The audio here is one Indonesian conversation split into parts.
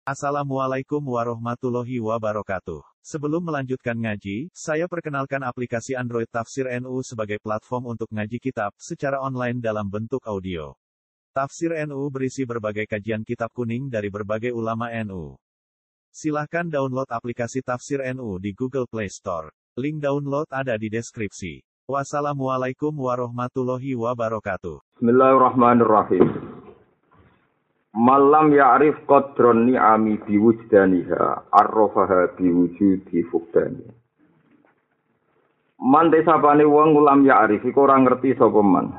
Assalamualaikum warahmatullahi wabarakatuh. Sebelum melanjutkan ngaji, saya perkenalkan aplikasi Android Tafsir NU sebagai platform untuk ngaji kitab secara online dalam bentuk audio. Tafsir NU berisi berbagai kajian kitab kuning dari berbagai ulama NU. Silahkan download aplikasi Tafsir NU di Google Play Store. Link download ada di deskripsi. Wassalamualaikum warahmatullahi wabarakatuh. Bismillahirrahmanirrahim. Malam ya'rif qadron ni'ami biwujdaniha arrofaha biwujudi fukdani. Man desapane wong ulam ya'rif iku ora ngerti sapa man.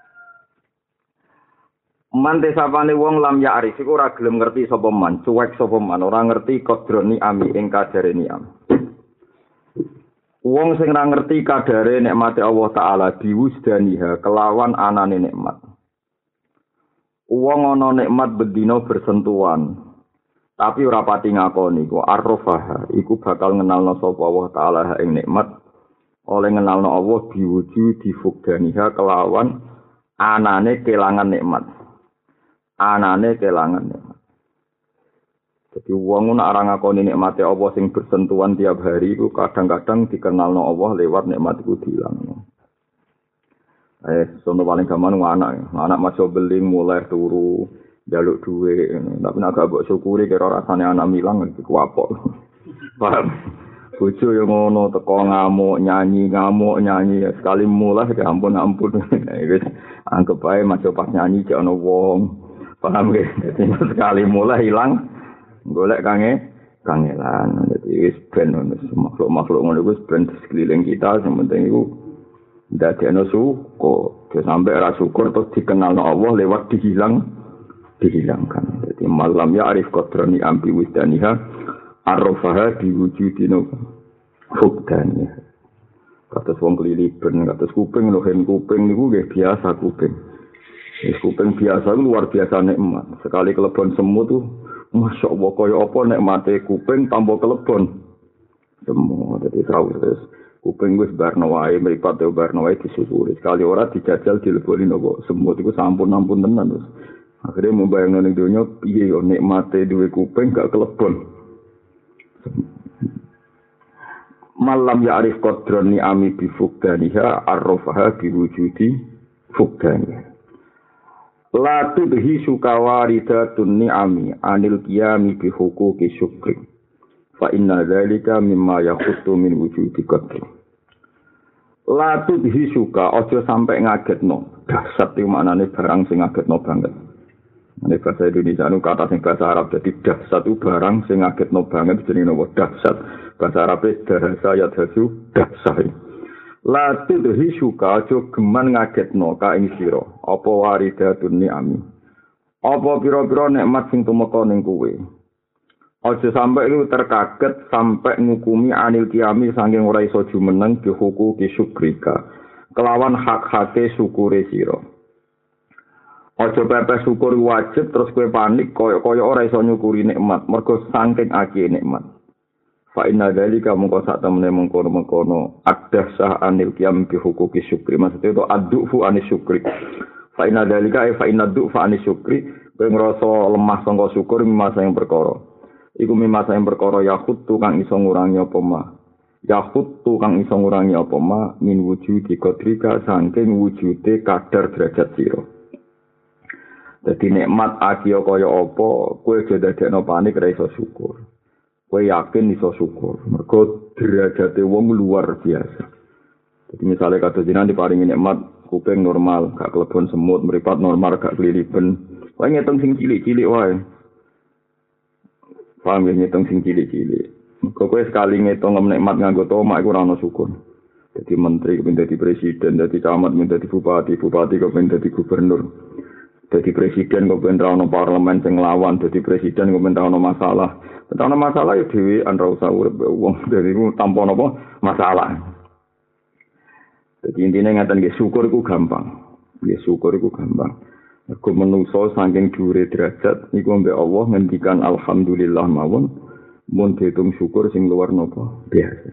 Man desapane wong lam ya'rif iku ora gelem ngerti sapa man, cuek sapa man, ora ngerti qadron ni'ami ing kadare ni'am. Wong sing ora ngerti kadare nikmate Allah taala biwujdaniha kelawan anane nikmat. Wong ana nikmat bedina bersentuhan tapi ora pati ngakoni ku arrofaha iku bakal ngenalno sapa Allah taala ing nikmat oleh ngenalno Allah diwujudi fukdaniha kelawan anane kelangan nikmat jadi wong ora ngakoni nikmate Allah sing bersentuhan tiap hari iku kadang-kadang dikenalno Allah lewat nikmat iku dilangno. Sono paling gampang anak masuk beling mulai turu jaluk duit, tapi nak gak syukuri kira rasane anak milang iku apok. Paham? Bojo yang ngono teko ngamuk nyanyi sekali mulai ya ampun. Wis anggap ae masuk pas nyanyi jek ana wong. Paham ge? Dadi sekali mulai hilang golek kangelan. Dadi wis ben makhluk-makhluk ngono iku ben sekeliling kita sing penting iku dadekno syukur, sampai ra syukur terus dikenalno Allah lewat dihilangkan. Jadi malam ya arif qadrani ambi wisdaniha arrofaha diwujudino fukdaniha. Kados wong keliliben, kados kuping lohen kuping niku nggih biasa kuping. Kuping biasa itu luar biasa nikmat. Sekali kelebon semut tuh Masya Allah kaya apa nikmate kuping tanpa kelebon. Semua jadi tahu terus. Kuping wis barno wae mripat yo barno wae disyukuri. Sekali ora dijajal dileboni nopo semut iku sampun tenan wis. Akhire mbayangno ning donya piye yo nikmate duwe kuping gak kelebon. Malam ya'rif qadron ni'ami bi fukdaniha arrofaha bi wujudi fukdaniha. La tudhi sukawaridatun ni'ami anil qiyami bi huquqi syukri. Fa inna dzalika mimma yakhuttu min wujudi qadri. La tudhi suka aja sampai ngagetno. Dahsyat iki maknane barang sing ngagetno banget. Nek bahasa Indonesia anu kata sing bahasa Arab dadi dahsyat itu barang sing ngagetno banget jenenge nopo dahsyat. Bahasa Arab dahsa ya dasu dahsyat. La tudhi suka aja geman ngagetno ka ing sira. Apa waridatun ni'ami. Apa pira-pira nikmat sing tumeka ning kowe. Aja sampai lu terkaget sampai ngukumi anil kiami saking ora iso jumeneng dihuku ki syukrika kelawan hak-hake syukure sira. Aja pepe syukur wajib terus kowe panik kaya ora iso nyukuri nikmat mergo saking akeh nikmat. Fa inna dzalika mungko sak temene mengkono adhsah anil kiami bi hukuki syukri maksudnya itu addufu anis syukri. Fa inna dzalika fa inna du'fa anis syukri kowe ngrasa lemah sangka syukur mimasa yang perkara. Iku mimasa yang perkara yakhuttu kang iso ngurangi apa ma. Yakhuttu kang iso ngurangi apa ma min wujudi qadrika saking wujude kadar derajat sira. Dadi nikmat akiya kaya apa, kowe aja dadekno panik ra iso syukur. Kowe yakin iso syukur, mergo derajate wong luar biasa. Jadi misalnya kados jenengan diparingi nikmat kuping normal, gak kelebon semut, mripat normal, gak keliliben. Kowe ngitung sing cilik-cilik wae. Paham ya ngitung sing cilik-cilik. Kowe sekali ngitung nikmat nganggo tomak iku ora ono syukur. Jadi menteri kepengin dadi presiden, dadi camat, kepengin dadi bupati kepengin dadi gubernur. Dadi presiden kepengin ra ono parlemen sing nglawan, dadi presiden kepengin ra ono masalah. Nek ono masalah ya dhewean ra usah urip wong dadi tanpa napa masalah. Jadi intinya ngaten nggih syukur iku gampang. Nggih syukur iku gampang. Aku menungso saking dhuwure derajat iku mbek Allah ngendikan alhamdulillah mawon mun diitung syukur sing luar napa biasa.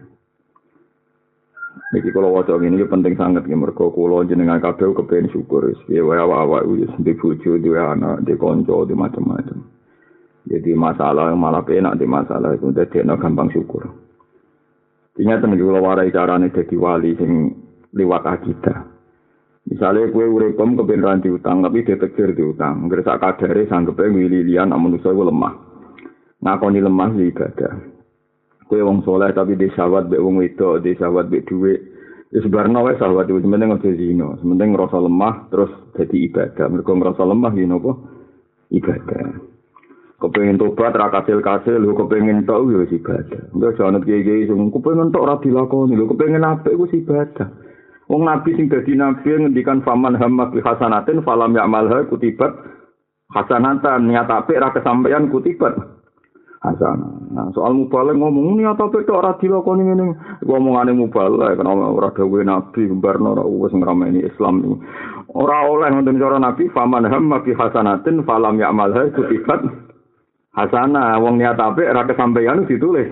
Niki kula waca ngene iki penting sanget nggih mergo kula jenengan kabeh kepengin syukur wis piye wae awak-awak wis ndek bojo, duwe anak, ndek kanca, ndek macam-macam. Jadi masalah malah penak di masalah itu dadekno gampang syukur. Ingat tenan kula warai carane dadi wali sing liwat akidah. Misalnya kue uripem kebenaran diutang tapi detektir diutang. Ngerasa kadare sanggepe mililian manusa iku lemah. Ngakoni lemah sih ibadah. Kue wong soleh tapi di syahwat mbek wong wedok, di syahwat mbek dhuwit. Ya sebarno wae syahwat itu sementing aja zina. Sementing ngrasa lemah terus dadi ibadah. Mergo ngrasa lemah ya napa? Ibadah. Kepengin tobat ra kasil-kasil lho kepengin tok ya wis ibadah. Enggak jangan kiye-kiye sing kepengin tok ra dilakoni lho kepengin apik ku ibadah. Wong nabi sing dadi nabi ngendikan faman hamma bi hasanatin falam ya'malha kutibat hasanatan niat apik ra kesampaian kutibat hasanah. Nah, soal mubalagh ngomong niat apik tok ora dilakoni ngene. Ngomongane mubalagh kan ora dawuhe nabi mbarno ora wis ngrameni Islam. Ora oleh ngoten cara nabi faman hamma bi hasanatin falam ya'malha kutibat hasanah, wong niat apik ora kesampaian ditulis.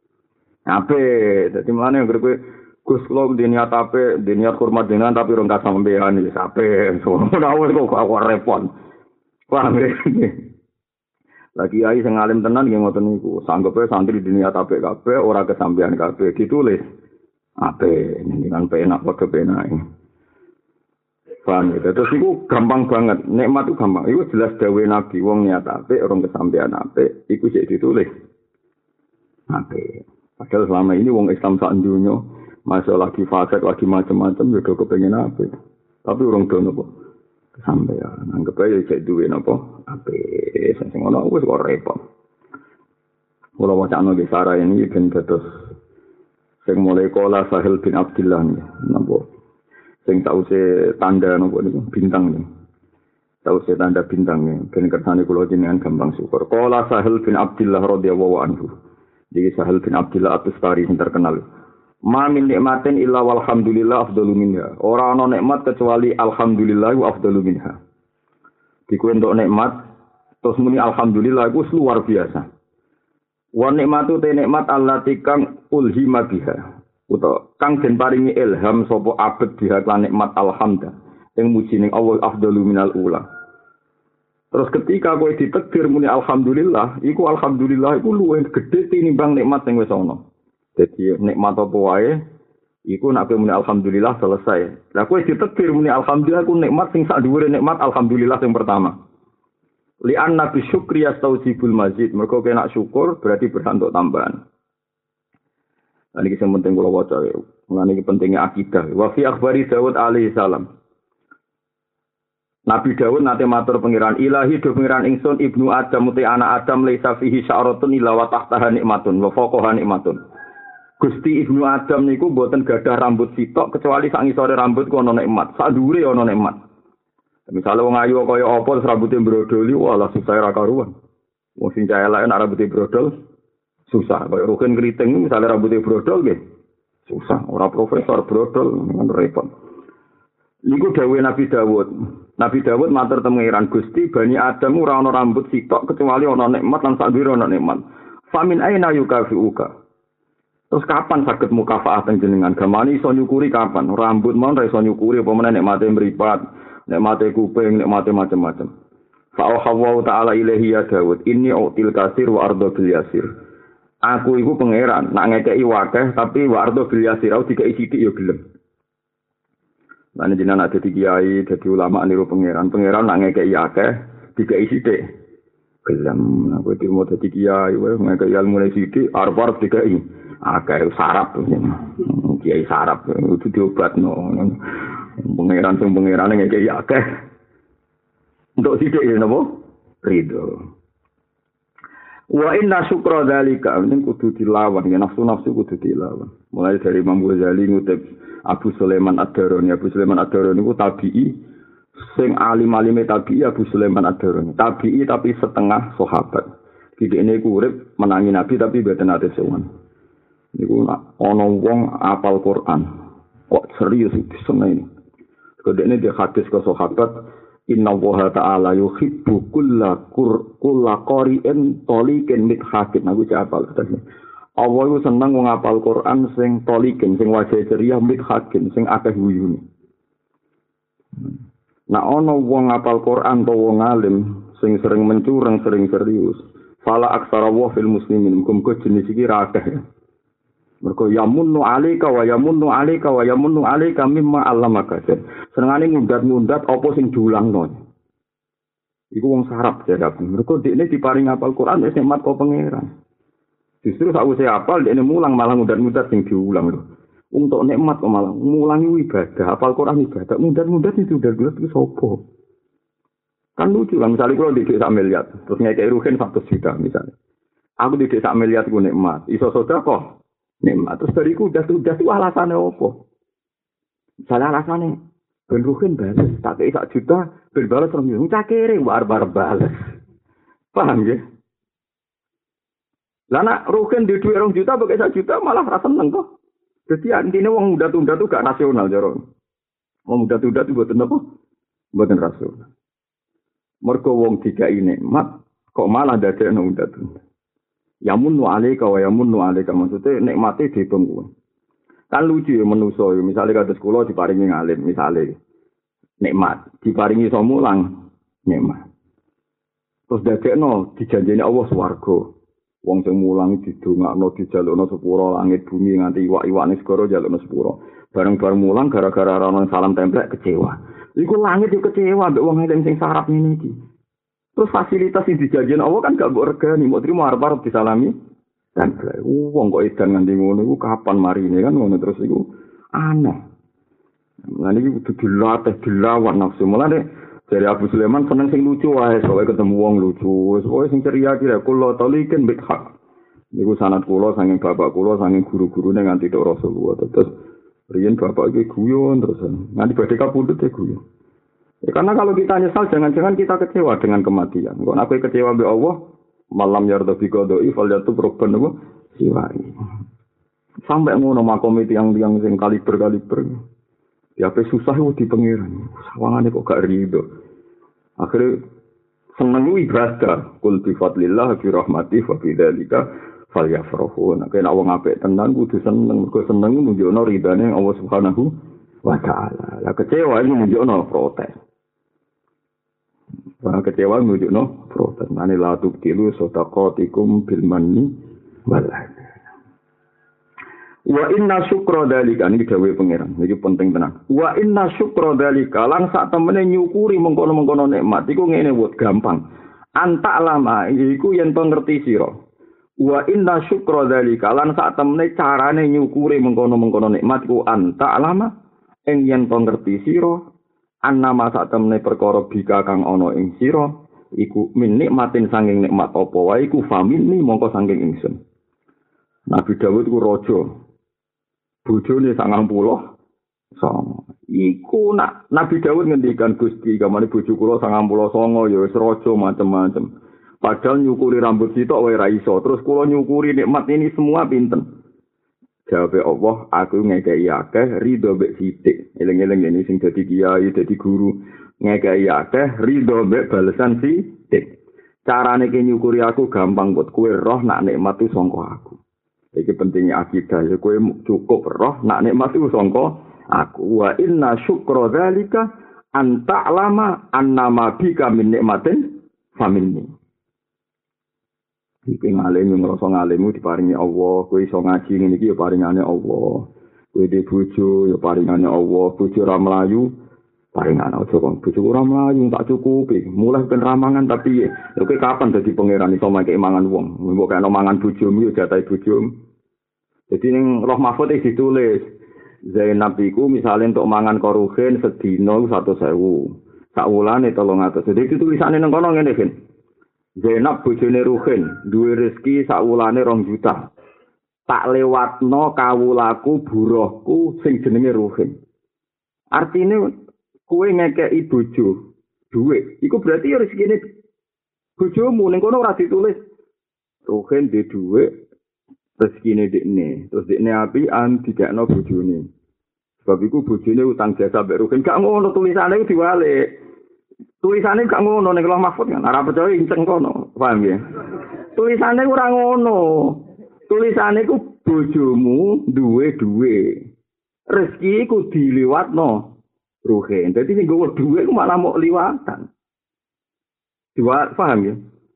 Apik, dadi mlane anggere kowe Gus kula di niat apik, di niat hormat dengan tapi ora kesampaian wis apik. Ora wis kok repot. Paham ya? Lagi ai sing alim tenan nggih ngoten niku. Sanggepe santri di niat apik kabeh ora kesampaian kabeh ditulis. Apik, dengan penak padha penake. Paham ya? Terus itu gampang banget. Nikmat itu gampang. Itu jelas dawe Nabi. Wong niat apik, orang kesampean apik. Itu sih ditulis. Apik. Padahal selama ini wong Islam sak dunya masih lagi fasik, lagi macam-macam. Ya udah kepengen apik. Tapi orang do napa? Kesampean. Anggap aja cek duwe napa? Apik. Sing ngono wis kok repot. Kula wacana di Sarah ini ben dados sing mulai kala Sahil bin Abdullah napa? Sing tause tanda napa niku bintang niku. Tause tanda bintang niku ben kersane kula jenengan gampang syukur. Qala Sahil bin Abdullah radhiyallahu anhu. Jadi Sahil bin Abdullah At-Tustari sing terkenal. Ma min nikmatin illa walhamdulillah afdalu minha. Ora ana nikmat kecuali alhamdulillah wa afdalu minha. Diku entuk nikmat terus muni alhamdulillah iku luar biasa. Wa nikmatu te nikmat allati kang ulhima biha. Utawa kang den paringi ilham sapa abet biha lan nikmat alhamda ing muji ning Allah afdalu minal ula. Terus ketika kowe ditakdir muni alhamdulillah, iku alhamdulillah iku luwih gedhe tinimbang nikmat sing wis ana. Dadi nikmat apa wae iku nek kowe muni alhamdulillah selesai. Lah kowe ditakdir muni alhamdulillah iku nikmat sing sak dhuwure nikmat alhamdulillah sing pertama. Li anna bi syukri yastaujibul mazid. Mergo kena syukur berarti berhak untuk tambahan. Ini kisah penting kalau waca. Ini pentingnya akidah. Wa fi akhbari Dawud alaihi salam. Nabi Dawud nate matur pengiran ilahi do pengiran ingsun ibnu Adam uti anak Adam laisa fihi sya'ratun illa wa tahtaha nikmatun wa fawqaha nikmatun. Gusti ibnu Adam niku mboten gadah rambut sitok kecuali sak ngisore rambut ku ana nikmat, sak dhuwure ana nikmat. Misale wong ayu kaya apa terus rambuté brodoli, walah susah ra karuan. Wong sing cah elek nek rambuté brodol susah, kaya Rukin Kriting misalnya rambutnya brodol nggih. Susah, ora profesor brodol kan repot. Niku dawuhe Nabi Dawud. Nabi Dawud matur temengiran Gusti Bani Adam ora ana rambut sitok kecuali ana nikmat lan sak dhuwure ana nikmat. Famin aina yukafiuka. Terus kapan saged mukafaah teng jenengan? Gamane iso nyukuri kapan? Rambut mon ra iso nyukuri apa meneh nikmate mripat, nikmate kuping, nikmate macam-macam. Fa Allah taala ilahi ya Dawud, inni util kasir wa ardo bil yasir. Aku iku pangeran, nak ngekeki wakeh tapi wa ardo bil yasir, dikai sithik ya gelem. Lan jenengan ada di kiai, dadi ulama niru pangeran. Pangeran nak ngekeki akeh, dikai sithik. Gelem, aku dirmo dadi kiai, wae ngekeki ilmu sithik, arep-arep dikai. Akeh sarap. Kiai sarap itu diobatno. Pangeran sing pangeran ngekeki akeh. Untuk sithik ya napa? Ridho. Wa inna syukra dzalika ini kudu dilawan ya nafsu kudu dilawan. Mulai dari Imam Ghazali ngutip Abu Sulaiman Ad-Darani. Abu Sulaiman Ad-Darani ku tabi'i sing alim-alime tabi'i Abu Sulaiman Ad-Darani. Tabi'i tapi setengah sahabat. Didekne ku urip menangi Nabi tapi mboten ate sowan. Niku ana wong apal Quran. Kok serius diseneni. Kodene dia hadis ke sahabat Inna Allaha ta'ala yuhibbu kulla qari'in tolikin mithakin. Aku apal tadi. Allah itu seneng wong apal Quran sing tolikin, sing wajah ceria mithakin, sing akeh guyune. Nah ana wong apal Quran to wong alim sing sering mencurang, sering serius. Fala aksara wa fil muslimin muga jenis iki ra akeh. Mergo yamunnu alaika wa yamunnu alaika wa yamunnu alaika mimma allamaka. Senengane ngundat-ngundat apa sing diulangno. Iku wong sarap jadap. Mergo dekne diparing hafal Quran wis nikmat kok pangeran. Justru sakwise hafal dekne mulang malah ngundat-ngundat sing diulang lho. Untuk nikmat kok malah mulang ibadah, hafal Quran ibadah, ngundat-ngundat itu udah itu sapa. Kan lucu kan, misalnya kalau di desa miliar, terus ngekei rugen 100 juta misalnya. Aku di desa miliar itu nikmat, iso sedekah nikmat. Terus bariku udah tuh alasannya apa? Misalnya alasannya, ben rugen bales, tak kei 1 juta, ben bales orang yang cakere, barbar bales. Paham ya? Lah nak rugen di duit 2 juta, pakai 1 juta malah rasa seneng kok. Jadi intinya wong muda-muda tuh gak rasional jaro. Wong muda-muda tuh buatan apa? Buatan rasional. Mergo wong dikai nikmat kok malah dadekno muda-muda. Yamunnu alaika wa yamunnu alaika maksudnya nikmate diitung kuwi. Kan lucu ya manusa ya misale kados kula diparingi ngalim misale nikmat diparingi iso mulang nikmat. Terus dadekno dijanjeni Allah swarga. Wong sing mulang didongakno dijalukno sepuro langit bumi nganti iwak-iwakne segara jalukno sepuro. Bareng-bareng mulang gara-gara ana salam templek kecewa. Iku langit yo kecewa mbek wong sing sarap ngene iki. Terus fasilitas sing dijanjeni Allah kan gak mbok regani, mbok trimo arep-arep disalami templek. Wong kok edan nganti ngono iku kapan marine kan ngono terus iku aneh. Lan iki kudu dilatih dilawan nafsu. Mulane dari Abu Sulaiman seneng sing lucu wae, soalnya ketemu wong lucu. Wis sing ceria kira kula talikin bik hak. Niku sanad kula saking bapak kula saking guru-gurune nganti tok Rasulullah. Terus riyen bapak iki guyon terus nganti badhe kapundhut ya guyon. Ya, karena kalau kita nyesal jangan-jangan kita kecewa dengan kematian. Kok aku kecewa mbek Allah, malam yarda bi qada'i falyatub robban apa siwai. Sampai ngono makom itu yang sing kaliber. Ya apa susah di pengiran. Sawangane kok gak rido. Akhirnya seneng ibadah. Qul bi fadlillah bi rahmati fa bi dzalika falyafrahu. Nek ana wong apik tenan kudu seneng. Mergo seneng nunjukno ridane Allah Subhanahu wa taala. Lah kecewa iki nunjukno protes. Kecewa nunjukno protes. Mane la tubtilu sadaqatikum bil manni wal adha. Wa inna syukra dzalika niki dawuhe pangeran niki penting tenan. Wa inna syukra dzalika lan sak temene nyukuri mengkono-mengkono nikmat iku ngene wut gampang. Anta lama iku yen to ngerti sira. Wa inna syukra dzalika lan sak temene carane nyukuri mengkono-mengkono nikmat iku anta lama ing yen to ngerti sira. Annama sak temene perkara bika kang ana ing sira iku min nikmatin sanging nikmat apa wae iku famini mongko sanging ingsun. Nabi Daud ku raja bojone 90 songo. Iku nak Nabi Daud ngendikan Gusti kamane bojo kula 90 songo ya wis raja macem-macem. Padahal nyukuri rambut sitok wae ra iso. Terus kula nyukuri nikmat ini semua pinten. Jawabe Allah, aku ngekeki akeh ridho mbek sithik. Eling-eling ini sing dadi kiai, dadi guru, ngekeki akeh ridho mbek balesan sithik. Carane ki nyukuri aku gampang buat kowe roh nak nikmat itu sangka aku. Iki pentingnya akidah ya kowe cukup roh nak nikmat itu sangka aku. Wa inna syukra dzalika an ta'lama annama bika min nikmatin faminni. Iki ngalim ngrasa ngalimu diparingi Allah, kowe iso ngaji ngene iki ya paringane Allah. Kowe dhe bojo ya paringane Allah, bojo ra mlayu paringane aja kok bojo ora mlayu tak cukupi. Mulai ben ramangan tapi kowe kapan dadi pangeran iso mangke mangan wong. Mbok kena mangan bojomu ya jatahe bojomu. Jadi ning Roh Mahfud iki ditulis Zainab iku misale untuk mangan korugen sedina 100.000. Sak wulane 300. Jadi tulisane nang kono ngene kan. Zainab bojone Ruhin duwe rezeki sak wulane 2 juta. Tak lewatno kawulaku buruhku sing jenenge Ruhin. Artine kowe ngekeki bojo duwe, iku berarti ya rezekine bojomu ning kono ora ditulis Ruhin dhe duwe rezekine dekne. Terus dekne apian dikekno bojone. Sebab iku bojone utang jasa mbek Ruhin. Gak ngono tulisane iku diwalik. Tulisane gak ngono ning Roh Mahfud kan ora percaya inceng kono, paham ya? Tulisane ora ngono. Tulisane ku bojomu duwe. Rezeki ku diliwatno Ruhin. Dadi sing gowo duwe ku malah mok liwatan. Diwat paham ya?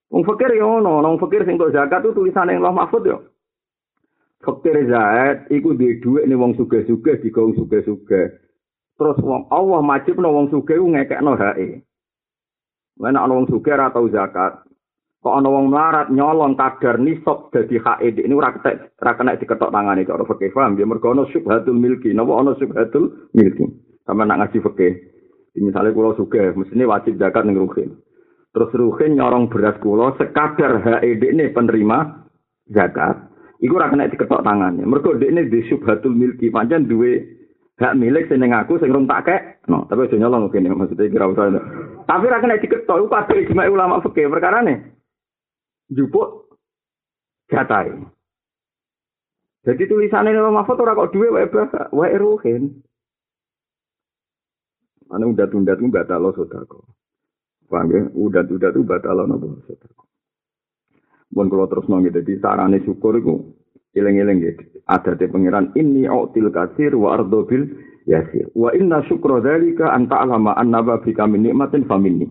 Wong fakir ya ono, wong fakir sing kok zakat itu tulisane ing Lauh Mahfuz ya. Fakir zakat iku duwe dhuwit ning wong sugih-sugih digawe sugih-sugih. Terus wong Allah majibno wong sugih ku ngekekno hake. Lan ana wong sugih ora tau zakat. Kok ana wong melarat nyolong kadar nisab dadi hake ini ora kena diketok tangane cara fakir paham ya mergo ana syubhatul milki. Napa ana syubhatul milki? Sama nak ngaji fakir. Misalnya kula sugih mestine wajib zakat ning ruhin. Terus ruhin nyorong beras kula sekadar HED ini penerima zakat. Iku ora kena diketok tangannya. Mergo dekne di syubhatul milki pancen duwe hak milik sing ning aku sing rung tak kek. No, tapi aja nyolong kene maksudnya kira usah. Tapi ora kena diketok iku kabeh ijma ulama fikih perkarane. Jupuk jatahe. Jadi tulisane Imam Mahfud ora kok duwe wae ruhin. Ana udat-udat ku batal sedekah. Paham ya? Udat-udat itu batal napa sedekah. Mun kula terus nang dadi sarane syukur iku eling-eling nggih. Adate pangeran inni util katsir wa ardo bil yasir. Wa inna syukra dzalika an ta'lama annaba bika min nikmatin faminni.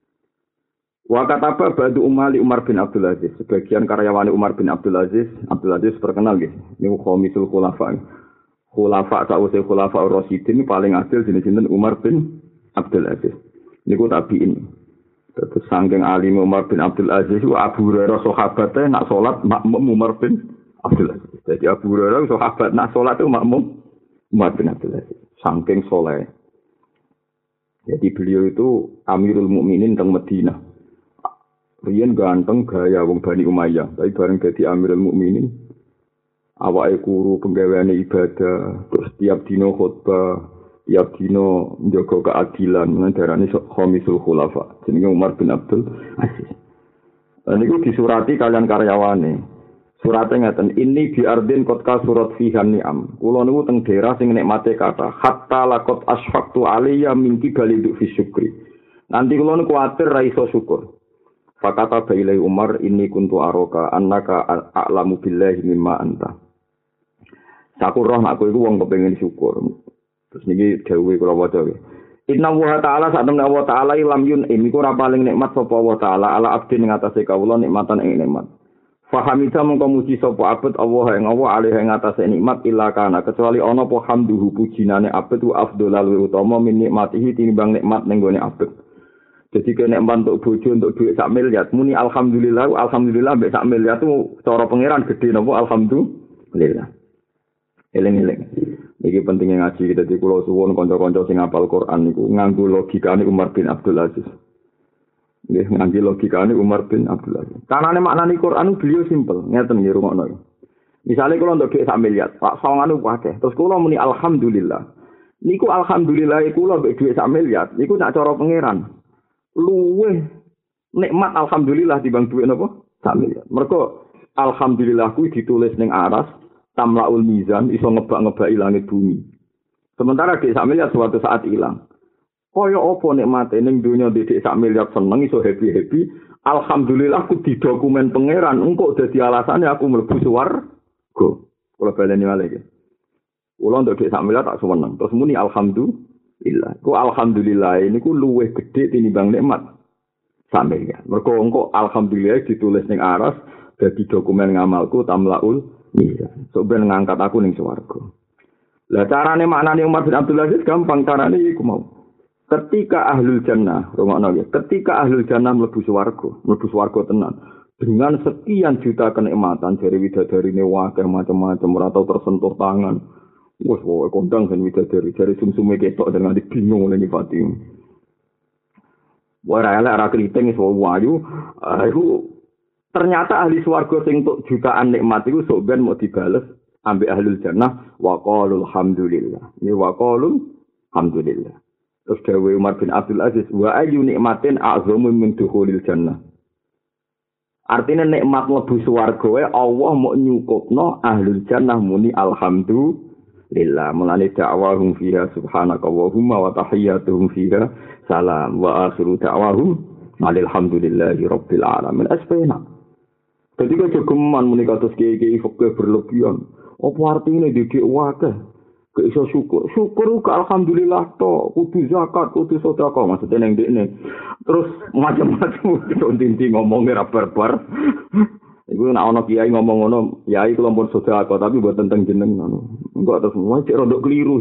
Wa kataba ba'du Umar bin Abdul Aziz. Sebagian karyawan Umar bin Abdul Aziz terkenal nggih. Niku khamisul khulafa. Khulafa sa'use khulafa ar-rasyidin paling adil jenenge Umar bin Abdul Aziz. Niku tabi'in. Terus saking alim Umar bin Abdul Aziz itu Abu Hurairah sahabatnya nak sholat makmum Umar bin Abdul Aziz. Jadi Abu Hurairah sahabat nak sholat itu makmum Umar bin Abdul Aziz. Saking soleh. Jadi beliau itu Amirul Mukminin teng Madinah. Riyen ganteng gaya wong Bani Umayyah. Tapi bareng jadi Amirul Mukminin awake kuru penggaweane ibadah, terus tiap dino khutbah. Tiap dino njaga keadilan darane khamisul khulafa jenenge Umar bin Abdul Aziz. Niku disurati kalian karyawane. Surate ngaten ini bi ardin kotka surat fihan ni'am. Kula niku teng daerah sing nikmate kata hatta laqad asfaqtu alayya min kibalidu fi syukri. Nanti kula niku kuwatir ra iso syukur. Fakata bailai Umar inni kuntu aroka annaka a'lamu billahi mimma anta. Sakurah aku iku wong kepengin syukur. Terus niki dawuhe kula waca nggih. Inna wa ta'ala sak temne Allah taala lam yun iku ora paling nikmat sapa Allah taala ala abdi ning atase kawula nikmatan ing nikmat. Fahamita mengko muji sapa abet Allah ing Allah alih ing atase nikmat illa kana kecuali ana apa hamduhu pujinane abet wa afdhalul utama min nikmatihi tinimbang nikmat ning gone abet. Jadi kene untuk bojo untuk duit sak miliar muni alhamdulillah mbek sak miliar itu cara pangeran gede napa alhamdulillah. Eling-eling. Iki pentingnya ngaji kita di kula suwun kanca-kanca sing hafal Quran niku nganggo logikane Umar bin Abdul Aziz. Nggih nganggo logikane Umar bin Abdul Aziz. Kanane maknane Quran beliau simpel, ngeten nggih rungokno. Misale kula untuk dhuwit sak miliar, Pak sawangane akeh. Terus kula muni alhamdulillah. Niku alhamdulillah kula mbek dhuwit sak miliar, niku nak cara pangeran. Luweh nikmat alhamdulillah dibanding dhuwit napa? Sak miliar. Mergo alhamdulillah kuwi ditulis ning aras tamlaul mizan iso ngebak-ngebaki langit bumi. Sementara dhek sak miliar suatu saat ilang. Kaya apa nikmate ning donya dhek sak miliar seneng iso happy-happy, alhamdulillah aku didokumen pangeran engko dadi alasane aku mlebu swarga. Kula baleni malih iki. Kula ndek dhek sak miliar tak seneng. Terus muni alhamdulillah. Ku alhamdulillah niku luwih gedhe tinimbang nikmat sak miliar. Mergo engko alhamdulillah ditulis ning aras dadi dokumen ngamalku tamlaul iya, so ben ngangkat aku ning swarga. Lah carane maknane Umar bin Abdul Aziz gampang carane iku mau. Ketika ahlul jannah, rungokno ya, ketika ahlul jannah mlebu swarga tenan. Dengan sekian juta kenikmatan dari widadarine wakil macam-macam ora tau tersentuh tangan. Wes wae kondang kan widadari dari sumsume ketok dengan bingung oleh nifati. Ora elek ora kriting iso wayu, iku ternyata ahli swarga sing tuk jutaan nikmat iku sok ben mau dibales ambek ahlul jannah wa qalul hamdulillah. Ni wa qalul hamdulillah. Terus dawuh Umar bin Abdul Aziz wa ayyu nikmatin a'zamu min dukhulil jannah. Artinya nikmat mlebu swarga wae Allah mau nyukupno ahlul jannah muni alhamdulillah. Mulane da'wahum fiha subhanakallahumma wa tahiyyatuhum fiha salam wa akhiru da'wahum alhamdulillahi rabbil alamin. Asbena. Jadi kalau geman muni kados kiai-kiai fakir berlebihan, apa artinya dikik wakeh? Gak iso syukur. Syukur ke alhamdulillah to, kudu zakat, kudu sedekah maksudnya ning ndekne. Terus macam-macam tinti ngomongnya ra barbar. Iku nek ana kiai ngomong ngono, kiai kula pun sedekah tapi mboten teng jeneng ngono. Enggak terus cek rodok keliru.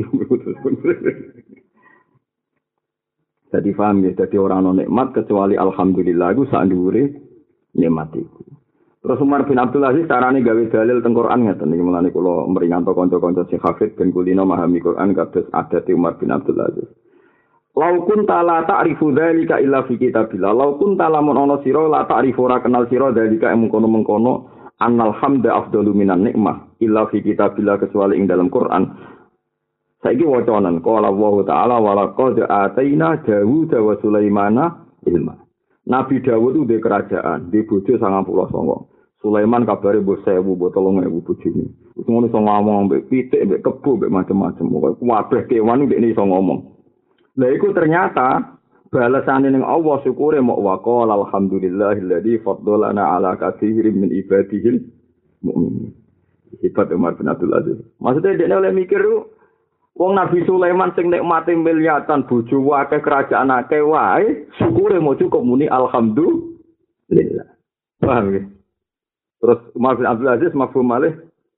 Jadi paham ya, jadi orang non nikmat kecuali alhamdulillah itu sak dhuwure nikmat iku. Terus Umar bin Abdul Aziz carane gawe dalil teng Quran ngeten iki mulane kula meringanto kanca-kanca sing hafid ben kulino memahami Quran kados adate Umar bin Abdul Aziz. Lau kunta la ta'rifu dzalika illa fi kitabillah. Lau kunta lamun ana sira la ta'rifu ora kenal sira dzalika mengkono-mengkono annal hamda afdalu minan nikmah illa fi kitabillah kecuali ing dalam Quran. Saiki wacanan qala Allah taala wa laqad ataina Dawud wa Sulaimana ilma. Nabi Dawud itu di kerajaan, di bojo 99. Sulaiman kabare mbok 1000, mbok 3000 bojone. Wis ngono iso ngomong mbek pitik, mbek kebo, mbek macam-macam. Pokoke kabeh kewan ndekne iso ngomong. Lah iku ternyata balasane ning Allah syukure mok waqala alhamdulillahilladzi faddalana ala katsirin min ibadihil mukminin. Sifat Umar bin Abdul Aziz. Maksudnya dekne oleh mikir wong Nabi Sulaiman sing nikmate miliatan bojo akeh kerajaan akeh wae syukure mau cukup muni alhamdulillah. Paham ya? Terus Umar bin Abdul Aziz mafhum malih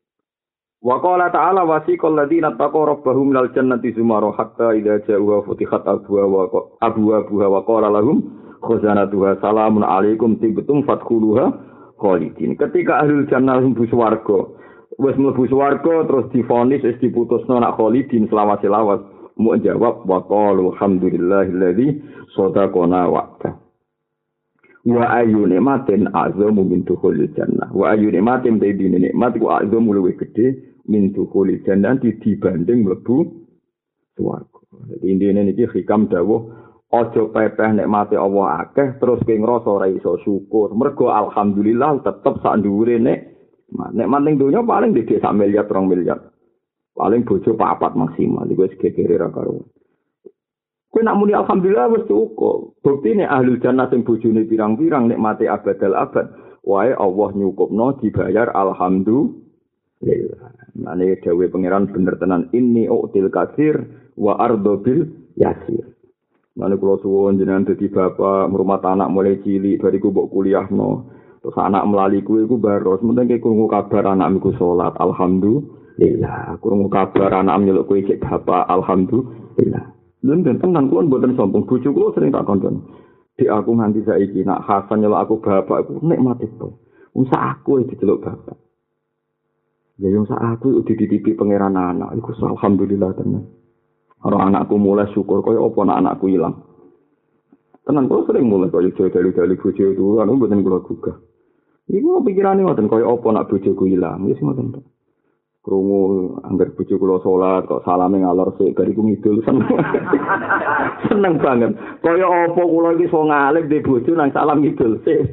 wa qala ta'ala wasiqal ladzina taqaw rabbahum minal jannati zumara hatta idza ja'uha futihat abwabuha wa qala lahum khazanatuha salamun alaikum tibtum fadkhuluha khalidin. Ketika ahlul jannah mlebu swarga wis mlebu swarga terus divonis wis diputusno nak khalidin selawase-lawas mu jawab wa qalu alhamdulillahilladzi sadaqana wa'da. Wa ayu nikmatin azamu min dukhulil jannah. Wa ayu nikmatin dene nikmat ku azamu luwih gedhe min dukhulil jannah dibanding mlebu swarga. Dadi intine niki hikam dawuh aja pepeh nikmate Allah akeh terus kowe ngrasa ora iso syukur. Mergo alhamdulillah tetep sak dhuwure nikmat ning donya paling dhek 1 miliar 2 miliar. Paling bojo 4 maksimal iku wis gegere ra karo. Kowe nak muni alhamdulillah wis cukup. Buktine ahlul jannah sing bojone pirang-pirang nikmate abadal abad. Wae Allah nyukupno dibayar alhamdulillah. Mane dawuh pangeran bener tenan inni util kasir wa ardo bil yasir. Mane kula suwun jenengan dadi bapak ngrumat anak mulai cilik bariku mbok kuliahno. Terus anak melali kuwi iku baros meneng krungu kabar anakku salat alhamdulillah. Krungu kabar anak nyeluk kowe cek bapak alhamdulillah. Lha tenan kuwi mboten sombong bojo kula sering tak kontoni. Dik aku nganti saiki nak Hasan nyeluk aku bapak iku nikmat itu. Wong sak aku diceluk bapak. Ya yang sak aku dititipi pangeran anak iku alhamdulillah tenan. Karo anakku mulai syukur kaya apa anakku ilang. Tenan kula sering mulai kaya dalu-dalu bojo itu anu mboten kula gugah. Iku pikirane ngoten kaya apa nak bojoku ilang. Wis ngoten. Krungu anggar bojo kula salat kok salame ngalor sik bariku ngidul seneng. Seneng banget. Kaya apa kula iki iso ngalih dhe bojo nang salam ngidul sik.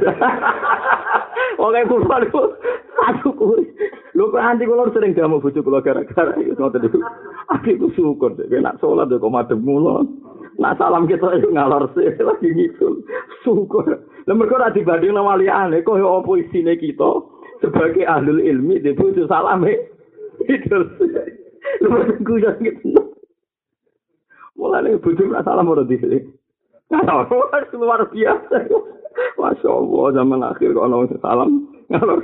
Oke kula aduh kuwi. Lho kok anti kula sering jamu bojo kula gara-gara iku ngoten niku. Aku syukur dek nek salat kok madhep mulo. Nak salam kita iku ngalor sik lagi ngidul. Syukur. Lah mergo ora dibanding nang waliyane kaya apa isine kita sebagai ahlul ilmi dhe bojo salame itu, lepas aku jangan gitu. Mulai bodoh nak salam orang di sini. Luar biasa. Masya Allah zaman akhir kalau orang salam ngalor.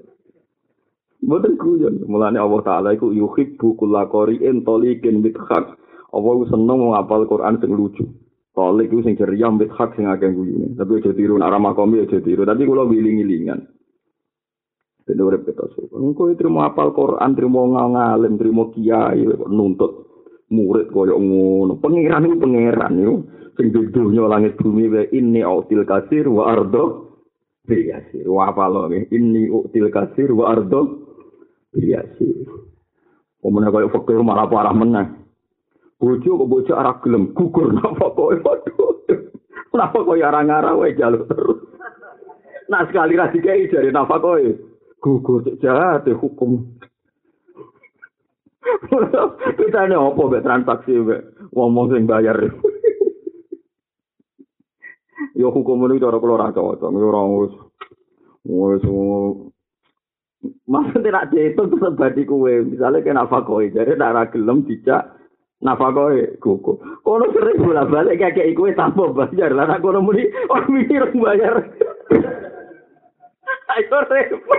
Bodoh kuyon. Mulai Allah Taala itu yuhibbu kulla qari'in taliqin bithak. Allah seneng menghafal Quran sing lucu. Talik itu sing ceria bithak sing akeh guyune. Tapi aja tiru nak ramah kami aja tiru. Tapi kula wiling-wilingan. Dene urip kita syukur. Engko trimo apal Quran, trimo ngalim, trimo kiai kok nuntut murid koyo ngono. Pangeran iku pangeran yo sing dunya langit bumi wae inni util kasir wa ardo biyasir. Wa apal nggih inni util kasir wa ardo biyasir. Omone koyo fakir malah parah meneh. Bojo kok bojo ora gelem gugur napa koyo waduh. Napa koyo arang-arang wae jaluk terus. Nah sekali ra dikai jare napa koyo gugur jahat hukum. Kita ini apa mbek transaksi mbek ngomong sing bayar. Yo hukum itu cara kula ra cocok, ora wis Maksudnya nak dihitung terus badi kue. Misalnya kayak nafakoi. Jadi nak ra gelem dijak nafakoi kuku. Kono sering bolak-balik kayak kue tanpa bayar. Lah nak kono muni orang mikir bayar. Ayo repot.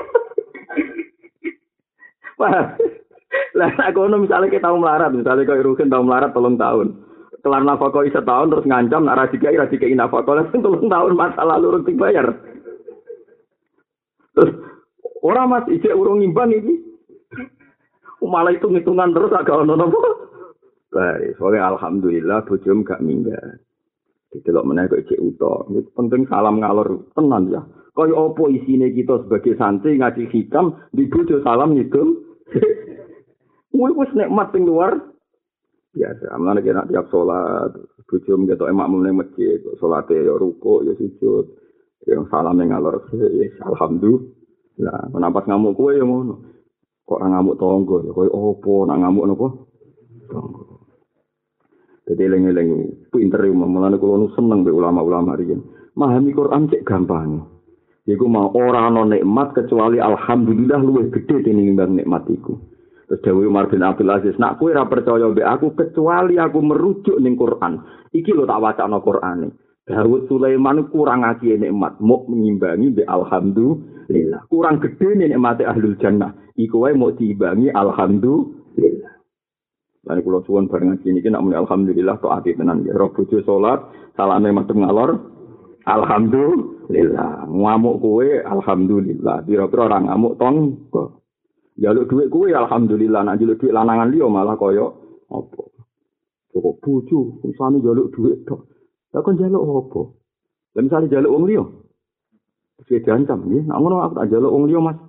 Wah. Lah nak kono misalnya kita tahu melarat. Misalnya kayak Rukin tahu melarat 3 tahun. Kelar nafakoi setahun terus ngancam nak ra dikai nafakoi 3 tahun masa lalu urung dibayar. Terus orang mas ijek urung ngimbang ini. Malah hitung-hitungan terus agak ono napa. Baik, soalnya alhamdulillah bojom gak minggat. Didelok meneh kok ijek uta. Penting salam ngalor tenan ya. Kaya apa isine kita sebagai santri ngaji hitam di bojo salam ngitung. Kuwi wis nikmat sing luar biasa. Amane nek tiap salat bojom ketok makmum ning masjid, salate ya rukuk ya sujud. Yang salam ngalor alhamdulillah. Menampas ngamuk kowe ya ngono. Kok ora ngamuk tangga ya kowe opo nak ngamuk napa? Tangga. Dadi eling-eling pinter mulane kula nu seneng mbek ulama-ulama riyen. Memahami Quran cek gampang. Iku mau ora ana nikmat kecuali alhamdulillah luwih gedhe tinimbang nikmat iku. Terus Dewi Umar bin Abdul Aziz, nak kowe ora percaya mbek aku kecuali aku merujuk ning Quran. Iki lho tak wacana Qurane. Dawud Sulaiman kurang ngaji nikmat, mau mengimbangi be alhamdulillah. Kurang gede nikmate ahlul jannah. Iku wae mau diimbangi alhamdulillah. Lan kula suwun bareng ngaji niki nek muni alhamdulillah tok ati tenan ya. Roh bojo salat, salame madhep ngalor. Alhamdulillah. Ngamuk kowe alhamdulillah. Pira-pira ora ngamuk tangga. Jaluk dhuwit kowe alhamdulillah, nek jaluk dhuwit lanangan liya malah kaya apa. Kok bojo usane jaluk dhuwit tok. Lah kon njaluk apa? Lah misale njaluk wong liya. Wis diancam nggih, nek ngono aku tak njaluk wong liya, Mas.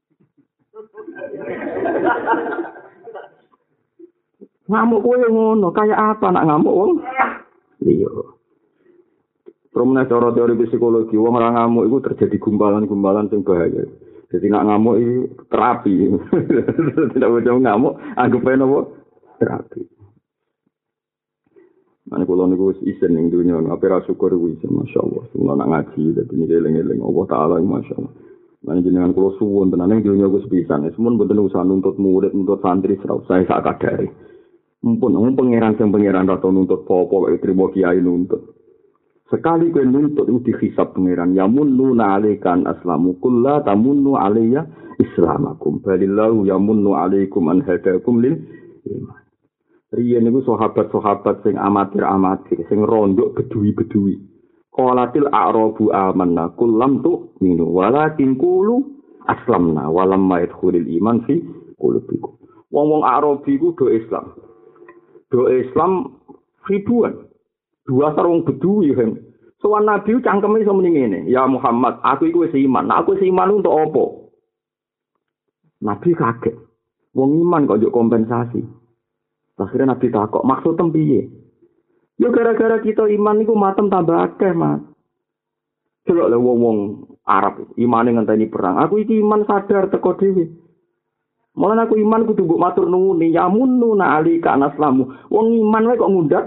Ngamuk kowe ngono, kaya apa nak ngamuk wong liya. Promene cara teori psikologi, wong ora ngamuk iku terjadi gumpalan-gumpalan sing bahaya. Jadi nak ngamuk iki terapi. Tidak boleh ngamuk, anggap ae napa? Terapi. Ane kula niku wis isen ning donya, ape ra syukur kuwi masyaallah. Semua nak ngaji dadi niki eling-eling Allah taala masyaallah. Lan jenengan kula suwun tenan ning donya wis pisan. Semun mboten usah nuntut murid, nuntut santri ora usah sak kadare. Mumpun pangeran sing pangeran ra nuntut apa-apa trimo kiai nuntut. Sekali kowe nuntut iku dihisab pangeran. Ya munnu na'alikan aslamu kullu tamunnu alayya islamakum. Balillahu yamunnu alaikum an hadakum lil iman. Riyen niku sahabat-sahabat sing amatir-amatir, sing rondok bedui-bedui. Qalatil a'rabu amanna kullam tu'minu walakin qulu aslamna walam yadkhulul iman fi qulubikum. Wong-wong Arabi ku do Islam. Do Islam ribuan. Dua sarung bedui kan. Sowan Nabi cangkeme iso muni ngene, "Ya Muhammad, aku iku wis iman. Nah, aku wis iman untuk apa?" Nabi kaget. Wong iman kok njuk kompensasi. Akhirnya Nabi takok, maksud piye? Ya gara-gara kita iman niku matem tambah akeh, Mas. Delok le wong-wong Arab imane ngenteni perang. Aku iki iman sadar teko dhewe. Mulane aku iman kudu mbok matur nuwun, ya munnu na alika naslamu. Wong iman wae kok ngundat.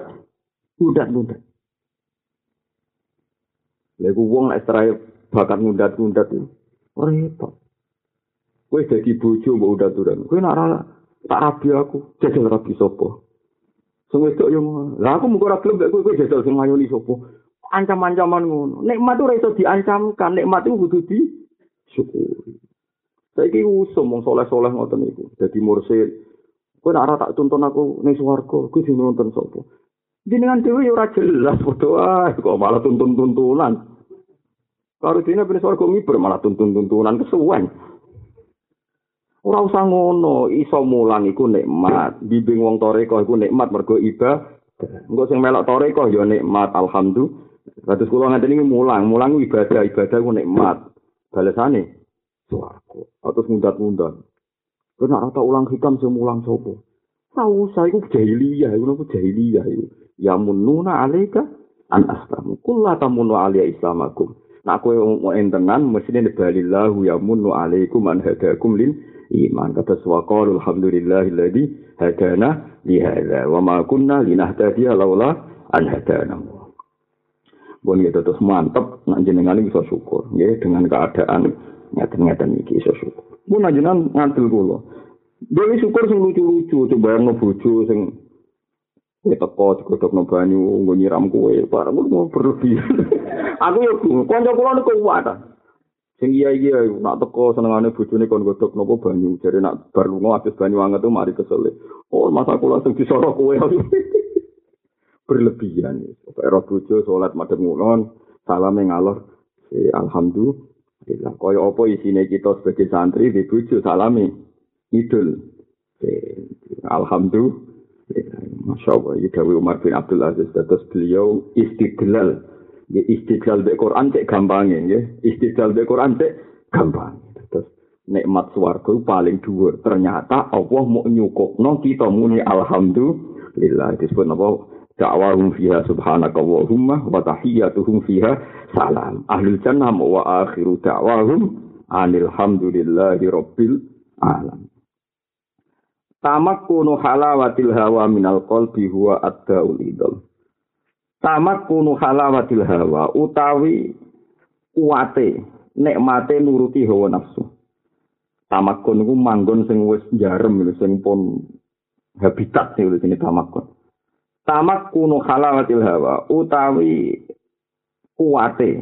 Lha ku wong nek serai bakat ngundat-ngundat iki. Ora repot. Kowe dadi bojo mbok udat-udan. Kowe nak tak rabi aku, jajal rabi sapa. Sing wedok yo ngono. Lah aku mung ora gelem nek kowe jajal sing ngayoni sapa. Ancam-ancaman ngono. Nikmat ora iso diancamkan, nikmat iku kudu disyukuri. Saiki usum wong saleh-saleh ngoten niku. Dadi mursyid. Kowe nek ora tak tuntun aku ning swarga, kowe sing nonton sapa? Jenengan dhewe yo ora jelas padha kok malah tuntun-tuntunan. Karo dene ben swarga miber malah tuntun-tuntunan kesuwen. Ora usah ngono, iso mulang iku nikmat. Bimbing wong toreko iku nikmat mergo ibadah. Engko sing melok toreko ya nikmat, alhamdulillah. Kados kula ngaten iki mulang ibadah iku nikmat. Balesane swarga. Atus mundat-mundat. Kok nek ora ulang hikam sing mulang sapa? Ora usah iku jahiliyah, iku jahiliyah iku. Ya mununa alaika an aslamu. Kullu tamunnu alayya islamakum. Nek kowe entenan mestine balillahu ya munnu alaikum an hadakum lil iman. Kata suwaqal alhamdulillahilladzi hadana li hadza wa ma kunna linahtadiya laula an hadana. Bon gitu terus mantep nak jenengan iso syukur nggih dengan keadaan ngaten-ngaten iki iso syukur. Mun ajenan ngandel kula. Dewi syukur sing lucu-lucu, coba yang bojo sing teko digodhogno banyu nggo nyiram kowe, bareng mau berlebihan. Aku yo kanca kula niku kuat. Sing iya nak teko senengane bojone kon godhog napa banyu, jare nak bar lunga habis banyu anget tuh mari kesel. Oh, masa kula sing disorok kowe. Berlebihan. Pokoke ro bojo salat madhep ngulon, salame ngalor. Alhamdulillah. Kaya apa isine kita sebagai santri di bojo salame idul. Alhamdulillah. Masya Allah. Ini Dawi Umar bin Abdul Aziz. Terus beliau istidlal. Ya, istidlal bil Quran cek gampangnya. Ya. Istidlal bil Quran cek gampang. Terus nikmat swarga paling dhuwur. Ternyata Allah mau nyukupno kita muni alhamdulillah. Disebut apa? Da'wahum fiha subhanaka Allahumma wa tahiyyatuhum fiha salam. Ahlul jannah wa akhiru da'wahum anil hamdulillahi rabbil alamin. Tamakkunu halawatil hawa minal qalbi huwa ad-da'ul idol. Tamakkunu halawatil hawa utawi kuwate nikmate nuruti hawa nafsu. Tamakkun iku manggon sing wis jarem sing pun habitat sing jenenge tamakkun. Tamakkunu halawatil hawa utawi kuwate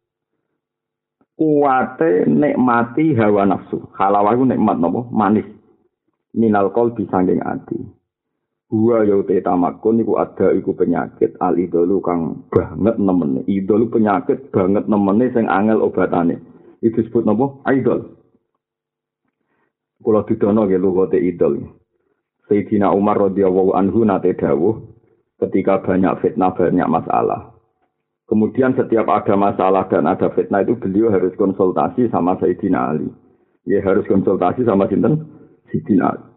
nikmati hawa nafsu. Halawah iku nikmat napa? Manis. Minal qalbi sanging ati. Huwa ya te tamakkun iku ada iku penyakit al idolu kang banget nemene. Idol penyakit banget nemene sing angel obatane. Itu disebut napa? Idol. Kula didono nggih lugote idol. Sayyidina Umar radhiyallahu anhu nate dawuh ketika banyak fitnah, banyak masalah. Kemudian setiap ada masalah dan ada fitnah itu beliau harus konsultasi sama Sayyidina Ali. Ya harus konsultasi sama sinten? Sayyidina Ali.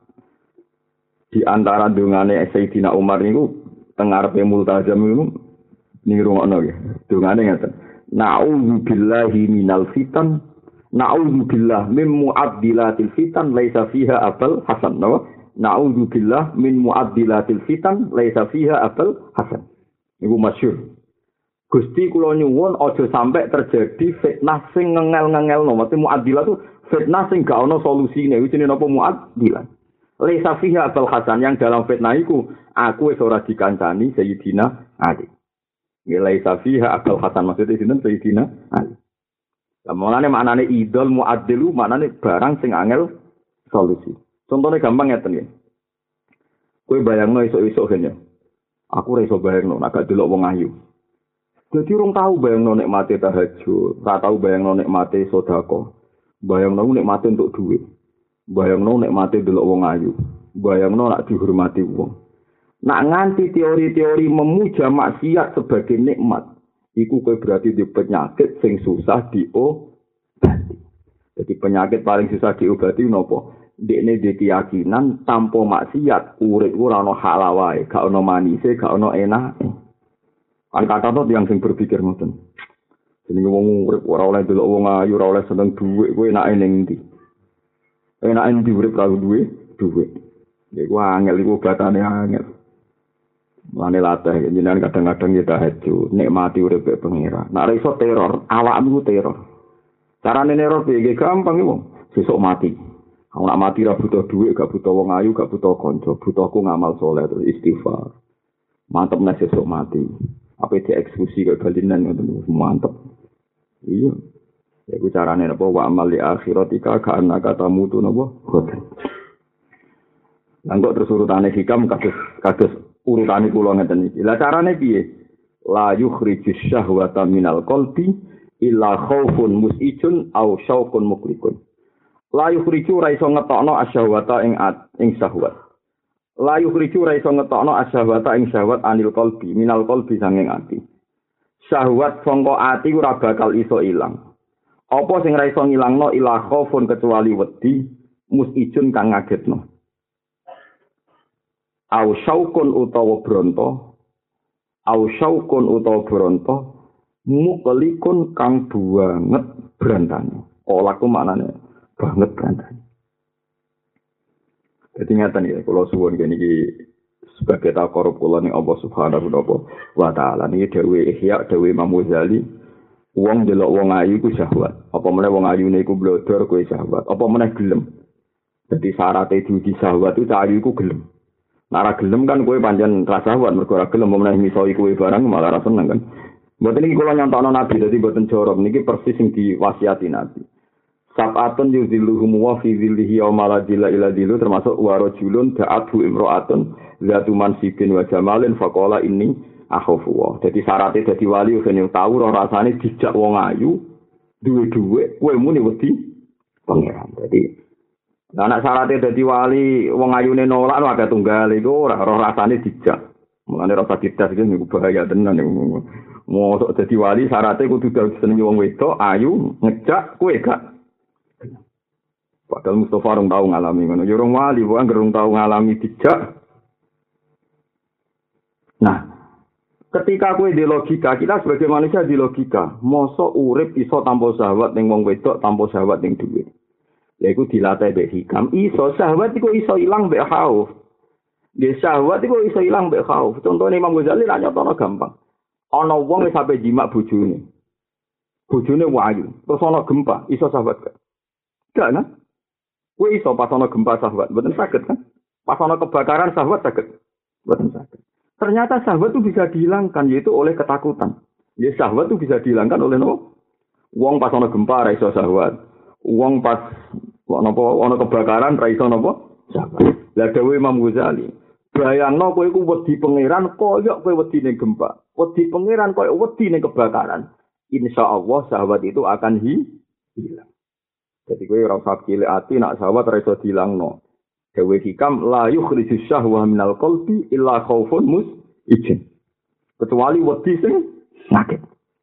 Di antara dungane Sayyidina Umar niku tengarepe multazam niku ngrungokno nggih. Dungane ngaten. Na'udzu billahi minal fitan, na'udzu billah min mu'addilatil fitan laisa fiha abal hasan. Na'udzu billah min mu'addilatil fitan laisa fiha abal hasan. Niku masyhur. Gusti kula nyuwun aja sampai terjadi fitnah sing ngengel-ngengelno. Mesti mu'addilah itu fitnah sing gak ono solusine. Iku jenenge napa mu'addilah. Laisa fiha abal hasan yang dalam fitnah iku aku wis ora dikancani Sayyidina Ali. Laisa fiha abal hasan maksudnya sinten Sayyidina Ali. Lah mulane maknane idol mu'addilu maknane barang sing angel solusi. Contohnya gampang ngeten ya. Kowe bayangno esuk-esuk kene. Aku ora iso bayangno nek gak delok wong ayu. Jadi orang tahu bayangno nikmate tahajud, ora tahu bayangno nikmate sedekah. Bayangno nikmate untuk duit. Bayangno nikmate delok wong ayu. Bayangno nak dihormati wong. Nak nganti teori-teori memuja maksiat sebagai nikmat, iku kowe berarti di penyakit sing susah diobati. Jadi penyakit paling susah diobati napa? Dekne di keyakinan tanpa maksiat urip ora ono halawae, gak ono manise, gak ono enake. Kan kata tuh yang sing berpikir ngoten. Jenenge wong urip ora oleh delok wong ayu, ora oleh seneng dhuwit, kowe enake ning ndi? Enake ndi urip karo dhuwit? Iku angel iku batane angel. Mane latih jenengan kadang-kadang kita tahajud, nikmati urip pengira. Nek iso teror, awakmu teror. Carane neror piye gampang iku. Sesuk mati. Aku nak mati ra butuh dhuwit, gak butuh wong ayu, gak butuh kanca, butuhku ngamal saleh terus istighfar. Mantep nek sesuk mati. Apa dieksekusi kaya balinan ngoten mantep. Iya. Iku carane napa wa amal li akhiratika ka annaka tamutu napa? Khoten. Lan kok terus urutane hikam kados urutane kula ngeten iki. Lah carane piye? La yukhrijus syahwata minal qalbi illa khaufun musijun au syauqun muklikun. La yukhriju ra iso ngetokno asyahwata ing syahwat. La yukhriju ra iso ngetokno asyahwata ing syahwat anil qalbi minal qalbi sanging ati. Syahwat sangka ati ora bakal iso ilang. Apa sing ra iso ngilangno ila khaufun kecuali wedi musijun kang ngagetno. Au syauqun utawa bronto. Au syauqun utawa bronto muqlikun kang banget brantane. Olaku maknane banget brantane. Dadi ngaten ya kula suwun niki sebagai takorup kula ning Allah Subhanahu wa taala niki dawuh Ihya dawuh Imam Ghazali Wong delok wong ayu iku syahwat. Apa meneh wong ayune iku blodor kowe syahwat. Apa meneh gelem. Dadi syaratnya diuji syahwat itu ayu iku gelem. Nara gelem kan kowe pancen ra syahwat mergo ora gelem meneh misoi kowe barang malah ra seneng kan. Mboten iki kula nyontokno Nabi dadi mboten jorok niki persis sing diwasiati Nabi. Sab'atun yuzilluhum wa fi zillihi yauma la zilla illa zillu termasuk wa rajulun da'athu imra'atun zatu mansibin wa jamalin faqala inni akhafu wa. Dadi syaratnya dadi wali ben tau ora rasane dijak wong ayu duwe-duwe kowe muni wedi pangeran. Dadi anak syaratnya dadi wali wong ayune nolak agak tunggal iku ora rasane dijak. Mulane rasa dites iki niku bahaya tenan niku. Mosok dadi wali syaratnya kudu seneng wong wedok ayu ngejak kowe gak. Padahal Mustafa rong tau ngalami ngono. Ya rong wali wae rong tau ngalami dijak. Nah, ketika kowe di logika, kita sebagai manusia di logika, mosok urip iso tanpa syahwat ning wong wedok, tanpa syahwat ning dhuwit. Lha iku dilatih mbek hikam, iso syahwat iku iso ilang mbek khauf. Dia syahwat iku iso ilang mbek khauf. Contone Imam Ghazali ra nyotono gampang. Ana wong wis sampe jimak bojone. Bojone wayu, terus ana gempa, iso syahwat gak? Gak kan? Kowe iso pas ana gempa syahwat, mboten saged kan? Pas ana kebakaran syahwat saged? Mboten saged. Ternyata syahwat itu bisa dihilangkan yaitu oleh ketakutan. Ya syahwat itu bisa dihilangkan oleh no. Wong pas ana gempa ra iso syahwat. Wong pas ana kebakaran ra iso napa? Syahwat. Lah dawuh Imam Ghazali, bayangno kowe iku wedi pangeran koyo kowe wedi ning gempa. Wedi pangeran koyo wedi ning kebakaran. Insyaallah syahwat itu akan hilang. Jadi kowe ora usah cilik ati nak syahwat ra iso dilangno. Dewe hikam la yukhriju syahwa minal qalbi illa khaufun musijin. Kecuali wedi sing sakit.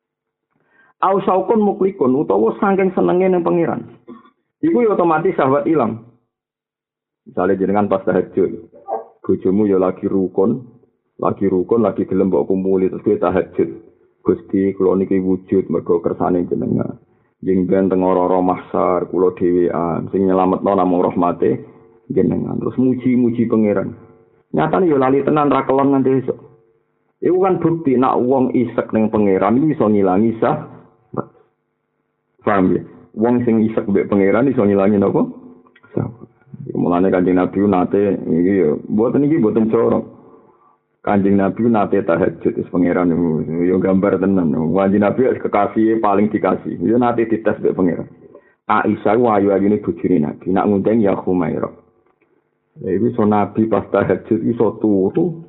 Au saukun muklikun utawa saking senenge ning pangeran. Iku ya otomatis syahwat ilang. Misale jenengan pas tahajud, bojomu ya lagi rukun, lagi gelem mbok kumpuli terus kowe tahajud. Gusti kula niki wujud mergo kersane jenengan. Jeng ben teng ora mahsar kula dhewean sing nyelametno namung rahmate jenengan. Terus muji-muji pangeran. Nyatane yo lali tenan ra kelon nganti esuk. Iku kan bukti nak wong isek ning pangeran iki iso ngilangi sah. Paham ya? Wong sing isek mbek pangeran iso ngilangi napa? Sah. Mulane Kanjeng Nabi nate iki yo mboten corok. Kanjeng Nabi nate tahajud wis pangeran yo gambar tenan. Kanjeng Nabi kekasih paling dikasih. Yo nate dites mbek pangeran. Aisyah ayu-ayune bojone Nabi nak ngundang ya Khumairah. Iku so Nabi pas tahajud iso turu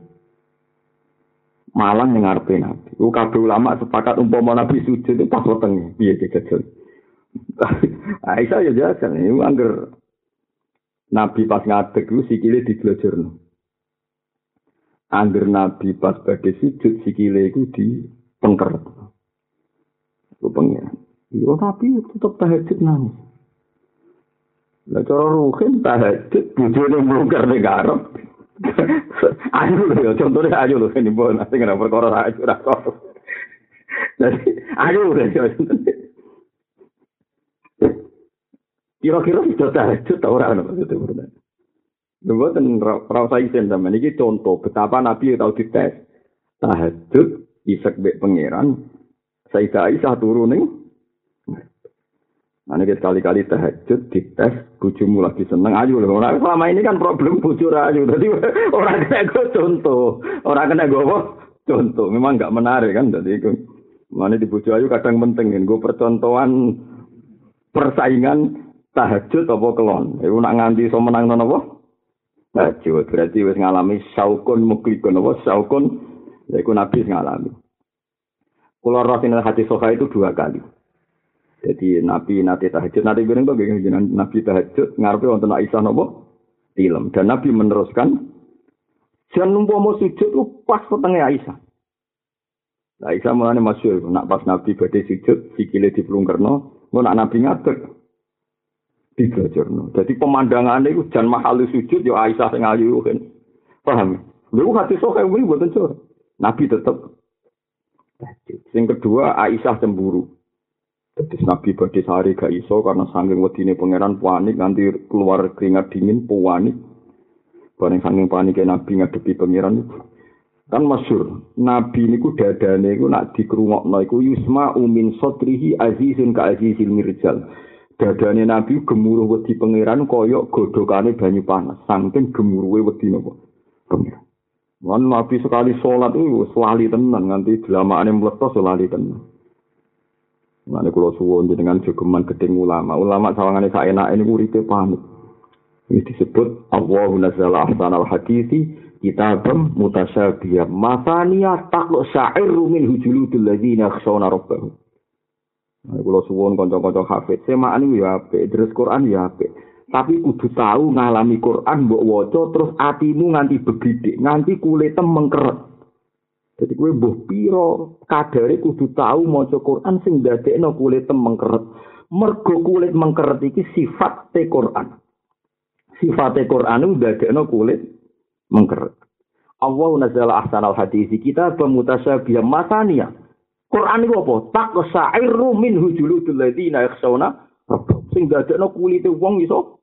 malang ning ngarepe Nabi. Ku kabeh ulama sepakat umpama Nabi sujud itu pas wetenge piye dijajal. Aisyah ya jajan iku angger Nabi pas ngadeg ku sikile diglojorno. Angger Nabi pas badhe sujud sikile iku dipengker. Ku pengen. Yo tapi tetep tahajud nangis. Lah cara ruhin tahajud bojone mlungker ning garep. Ayo lho, contone ayo lho ini bon, sing ora perkara ayo ora kok. Jadi ayo lho. Kira-kira sudah tahajud ta ora ngono maksudnya. Mboten ora usah isen sampean iki contoh betapa Nabi tau dites. Tahajud isek mbek pangeran. Sayyidah Aisyah turu ning Nah, ini sekali-kali tahajud, dites, bojomu lagi seneng, ayo loh. Nah, selama ini kan problem bojo ayu. Jadi orang kena gue contoh. Orang kena gue contoh. Memang nggak menarik kan. Jadi itu. Mana di bojo ayu kadang penting. Gue percontohan persaingan tahajud apa kelon. Iku nak nganti so menang apa? Tahajud. Berarti wis ngalami saukun muklikun apa? Saukun. Iku Nabi ngalami. Kula rasinal hati soha itu 2 kali. Jadi Nabi nate tahajud, nate bareng to nggih Nabi tahajud ngarepe wonten Aisyah napa? Tilem. Dan Nabi meneruskan jan umpama sujud ku pas wetenge Aisyah. Lah Aisyah mulane masyhur nak pas Nabi badhe sujud sikile diplungkerno, engko nak Nabi ngadeg diglojorno. Jadi pemandangane iku jan mahal sujud ya Aisyah sing ayu kan. Paham? Lha hati sok kuwi mboten cor. Nabi tetep tahajud. Sing kedua Aisyah cemburu. Terus Nabi badhe sehari gak iso karena saking wedine pangeran panik nganti keluar keringat dingin panik. Bareng saking panike Nabi ngadepi pangeran Kan masyhur, nabi niku dadane iku nak dikrungokno iku yusma umin sotrihi azizun ka azizil mirjal. Dadane nabi gemuruh wedi pangeran kaya godhokane banyu panas, saking gemuruhe wedi napa pangeran. Wan nabi sekali salat iku lali tenan nganti delamakane mletos lali tenan. Mane kula suwun jenengan jogeman gedeng ulama. Ulama sawangane saenake niku uripe panik. Ini disebut Allahu nazzala ahsanal hadisi kitabam mutasyabiyah masaniya taqlu sya'irru min hujuludul ladzina yakhshawna rabbahum. Nah, kula suwun kanca-kanca hafid, semaan niku ya apik, terus Quran ya apik. Tapi kudu tahu ngalami Quran mbok waca terus atimu nganti begidik, nganti kulite mengkeret. Jadi kowe mbuh pira kadare kudu tahu maca Quran sing ndadekno kulite mengkeret. Mergo kulit mengkeret iki sifat te Quran. Sifate Quran itu ndadekno kulit mengkeret. Allah nazzala ahsanal hadisi kita pemutasyabiyah masaniya. Quran itu apa? Taqsa'irru min hujuludul ladzina yakhshawna rabbahum. Sing ndadekno kulite wong iso.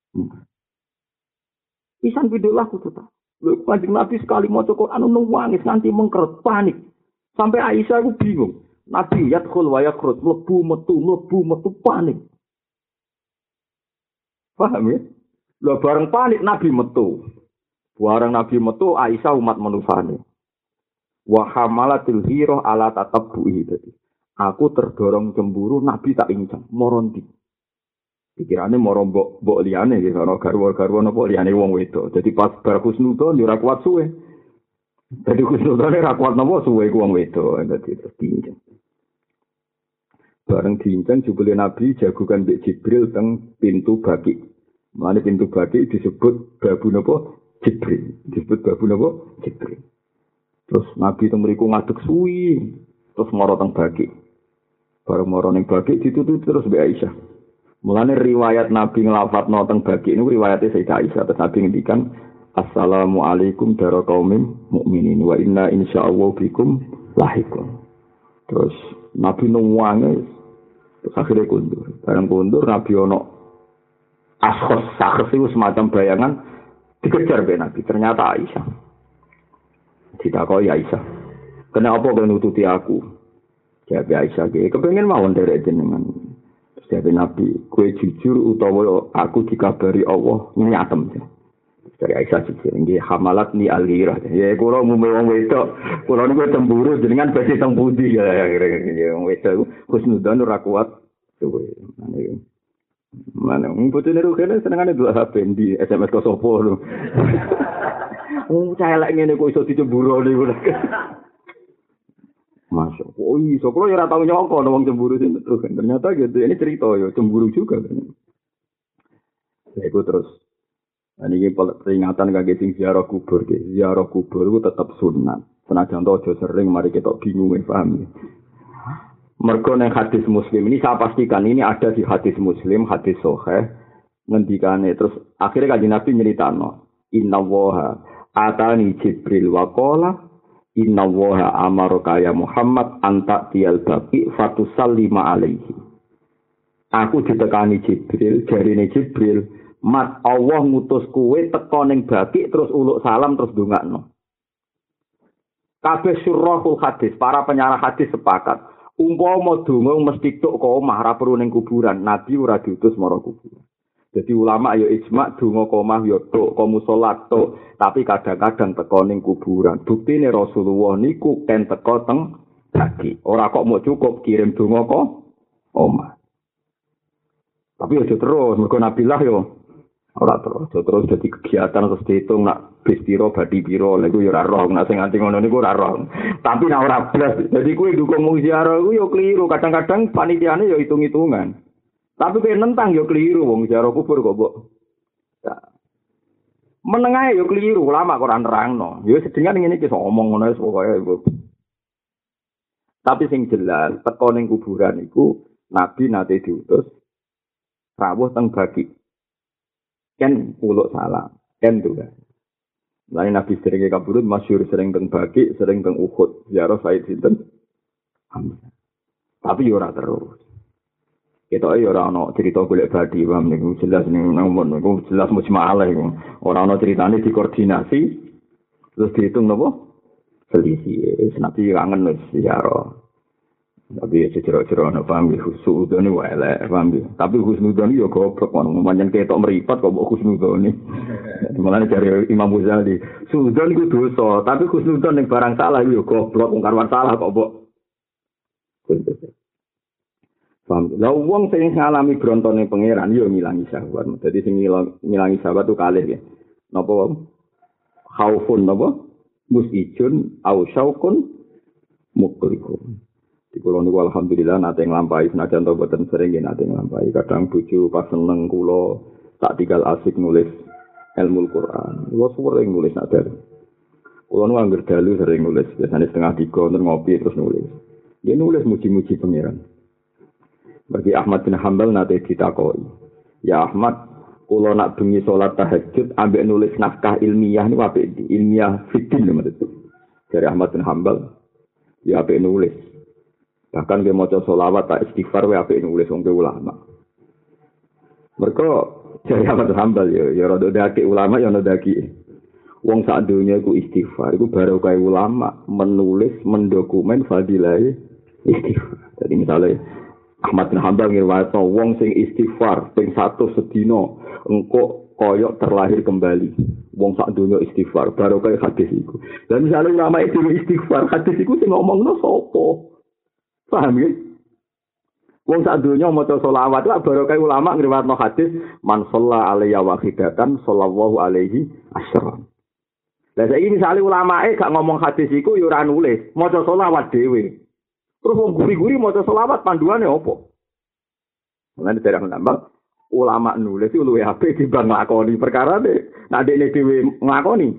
Pisan bidolah kudu ta. Lho Kanjeng Nabi sekali maca Quran nangis nganti mengkeret panik. Sampai Aisyah aku bingung. Nabi yadkhul wa yakhruj mlebu metu panik. Paham ya? Lho bareng panik Nabi metu. Bareng Nabi metu Aisyah umat manusane. Wa hamalatil ghirah ala tatabbuhi tadi. Aku terdorong cemburu Nabi tak incang moronti. Pikirane moro mbok liyane iki ana garwa-garwa napa liyane wong wedok. Dadi pas bar kusnudon yo ora kuat suwe. Dadi kusnudon ora kuat napa suwe ku wong wedok. Dadi terus diincang. Bareng diincang jebule Nabi jagokan mbek Jibril teng pintu Baqi. Mane pintu Baqi disebut babu napa? Jibril. Disebut babu napa? Jibril. Terus Nabi teng mriku ngadeg suwi, terus mara teng Baqi. Bareng mara ning Baqi ditutup terus mbek Aisyah. Mulane riwayat Nabi nglafadzno teng Baqi niku riwayate Sayyidah Aisyah. Terus Nabi ngendikan Assalamualaikum daraqaumin mukminin wa inna insyaallah bikum lahiqun. Terus Nabi nangis. Terus akhirnya kundur. Bareng kundur Nabi ono sakhs itu semacam bayangan dikejar be Nabi. Ternyata Aisyah. Ditakoi Aisyah. Kenapa kau nututi aku? Jawab Aisyah, kepengen mawon derek jenengan. Jawab Nabi, kue jujur utawa aku dikabari Allah nyatem. Dari Aisyah jujur, nggih hamalat ni alirah. Ya kula umume wong wedok, kula niku cemburu jenengan badhe teng pundi ya wong wedok husnudzon ora kuat. Suwe. Mana bocone rugene senengane dua HP di SMS ke sopo lho. Celek ngene kok iso dicemburu niku. Masuk. Oh iya, so kalau ya tahu nyokok wong cemburu sih terus kan. Ternyata gitu. Ini cerita ya cemburu juga kan. Ya itu terus. Nah, ini peringatan kaki sing ziarah kubur. Ziarah kubur itu tetap sunat. Senajan to aja sering mari kita bingung paham ya. Mergo nang hadis Muslim ini saya pastikan ini ada di hadis Muslim, hadis sahih ngendikane terus akhirnya Kanjeng Nabi nyeritano innallaha atani Jibril wa qala innallaha amaraka ya Muhammad anta tial baqi fatusallima alaihi. Aku ditekani Jibril, jarine Jibril, mat Allah ngutus kowe teka ning Baqi terus uluk salam terus ndongakno. Kabeh syurahul hadis, para penyarah hadis sepakat. Umpama donga mesti tok ka omah ora perlu ning kuburan, Nabi ora diutus marang kuburan. Jadi ulama ya ijma donga ka omah ya tok, ka musala tok, tapi kadang-kadang teka ning kuburan. Buktine Rasulullah niku ken teka teng Baqi. Ora kok mau cukup kirim donga ka omah. Tapi aja terus, mergo Nabilah yo ora terus dadi kegiatan terus diitung nak bis piro badi piro lha iku yo ora roh nak sing nganti ngono niku ora roh. Tapi nak ora blas. Dadi kuwi dukung mung ziarah iku yo keliru. Kadang-kadang panitiane yo hitung-hitungan. Tapi kowe nentang yo keliru wong ziarah kubur kok mbok. Menengae yo keliru, ulama kok ora nerangno. Yo sedingan ngene iki iso omong ngono wis pokoke. Tapi sing jelas teko ning kuburan iku Nabi nate diutus rawuh teng Baqi. Kan uluk salam, kan juga. Lain Nabi sering kabudut, masyhur sering teng Baqi, sering teng Uhud, ziarah Said sinten. Tapi ora terus. Kita ora ana cerita golek badi, paham niku jelas ning nomor niku jelas mujma'alah iku. Ora ana critane dikoordinasi terus dihitung napa? selisih. Nabi kangen wis ziarah. Tapi jero-jero ana paham ya husnudon wae elek paham ya. Tapi husnudon yo goblok ngono pancen ketok mripat kok mbok husnudon. Mulane dari Imam Ghazali, husnudon iku dosa, tapi husnudon ning barang salah yo goblok wong karwan salah kok mbok. Paham. Lah wong sing ngalami brontone pangeran yo ngilangi syahwat. Dadi sing ngilangi syahwat tuh kalih ya. Napa wae? Khaufun napa? Musijun au syaukun mukrikum. Di kula niku alhamdulillah nate nglampahi senajan to boten sering nate nglampahi. Kadang bojo pas seneng kula tak tinggal asik nulis ilmu Al-Qur'an. Kula sering nulis nak dalem. Kula nu angger dalu sering nulis, biasane setengah 3 terus ngopi terus nulis. Dia nulis muji-muji pangeran. Bagi Ahmad bin Hanbal nate ditakoni. Ya Ahmad, kula nak bengi salat tahajud ambek nulis naskah ilmiah niku apik iki? Ilmiah fikih lho maksud. Dari Ahmad bin Hanbal ya apik nulis. Bahkan dia maca selawat tak istighfar wae apik nulis wong ulama. Mergo jare Ahmad Hambal ya rada dake ulama ya rada dake. Wong sak donya iku istighfar iku barokah ulama menulis mendokumen fadilah istighfar. Jadi misalnya Ahmad bin Hambal ngriwayatno wong sing istighfar ping 100 sedina engko koyok terlahir kembali. Wong sak donya istighfar barokah hadis iku. Dan misalnya ulama itu istighfar hadis iku sing ngomongno sapa? Paham ya? Wong sak donya maca selawat wae barokah ulama ngriwayatno hadis man shalla alayya wahidatan sallallahu alaihi asyara. Lah saiki misale ulamae gak ngomong hadis iku ya ora nulis, maca selawat dhewe. Terus wong guri-guri maca selawat panduane opo? Mulane dereng nambah ulama nulis iku luwih apik timbang nglakoni perkarane. Nek dekne dhewe nglakoni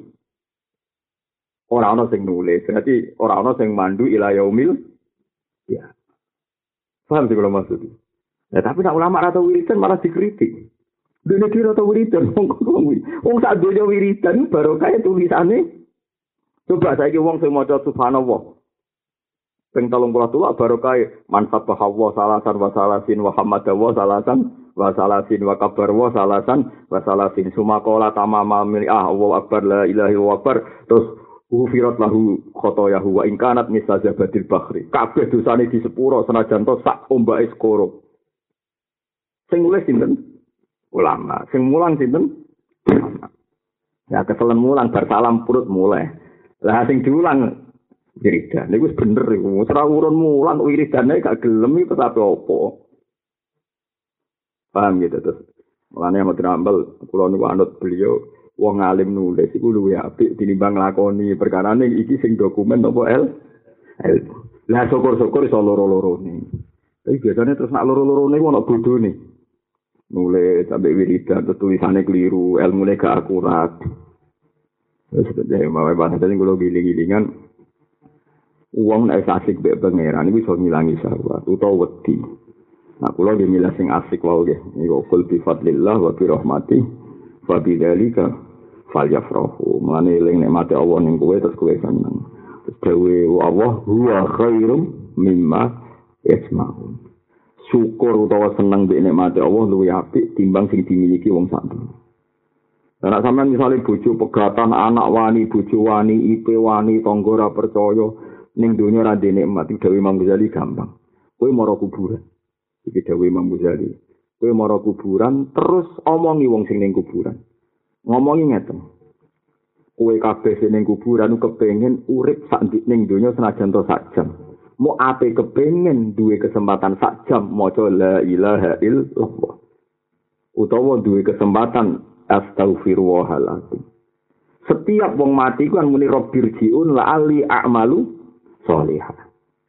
ora ana sing nulis, berarti ora ana sing mandu ila yaumil ya. Paham sih kalau maksudnya. Ya, tapi nak ulama atau wiridan malah dikritik. Dene kira atau wiridan wong sak donya wiridan barokah tulisane. Coba saiki wong sing maca subhanallah. Ping 33 barokah man sabbaha salasan wa salasin wa hamadahu salasan wa salasin wa kabarwa salasan wa salasin sumaqala tamama Allahu akbar la ilaha illallah terus Hufirat lahu khotoyahu wa ingkanat misazabatil bakhri. Kabeh dosane di sepuro senajan to sak ombake skoro. Sing nulis sinten? Ulama. Sing mulang sinten? Ulama. Ya keselen mulang bar salam purut mulai. Lah sing diulang wiridan. Niku wis bener iku. Ora urun mulang wiridane gak gelem iki tapi opo. Paham gitu terus. Mulane Ahmad bin Hanbal kula niku anut beliau wong alim nulis iku luwih apik tinimbang nglakoni perkarane iki sing dokumen apa ilmu. Lah syukur-syukur iso loro-lorone. Tapi biasane terus nak loro-lorone ono bodone. Nulis sampai wiridan tulisane keliru, ilmune gak akurat. Wis dadi mawe bahasa sing kula giling-gilingan wong nek asik mbek pangeran iku iso ngilangi syahwat utawa wedi. Nah kula nggih milih sing asik wae nggih. Niku kul bi fadlillah wa bi rahmati fa bidzalika falyafrahu. Mulane eling nikmate Allah ning kowe terus kowe seneng. Terus dewe Allah huwa khairum mimma yasma'un. Syukur utawa seneng mbek nikmate Allah luwih apik timbang sing dimiliki wong sak dunya. Nek sampean misale bojo pegatan, anak wani, bojo wani, IP wani, tangga ora percaya ning donya ra ndek nikmat, dewe Imam Ghazali gampang. Kowe mara kuburan. Iki dewe Imam Ghazali. Kowe mara kuburan terus omongi wong sing ning kuburan. Ngomongi ngeten. Kowe kabeh sing ning kuburan kepengin urip sak ning donya senajan to sak jam. Mau ape kepengin duwe kesempatan sak jam maca la ilaha illallah. Utawa duwe kesempatan astaghfirullahaladzim. Setiap wong mati ku kan muni rabbirjiun la ali a'malu sholihah.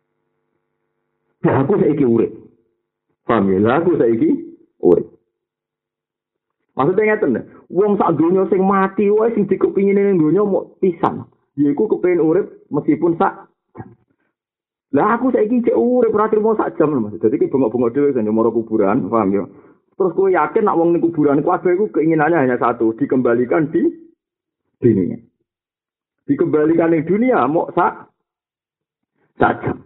Ya aku saiki urip. Paham ya, aku saiki urip. Maksudnya ngeten, wong sak donya sing mati wae sing dikepingine ning donya mok pisan. Yaiku kepengin urip meskipun sak jam. Lah aku saiki cek urip ora trimo sak jam lho Mas. Dadi ki bengok-bengok dhewe sing moro kuburan, paham ya? Terus kowe yakin nek wong ning kuburan kabeh iku keinginannya hanya satu, dikembalikan di dunia. Dikembalikan ning dunia mok sak jam.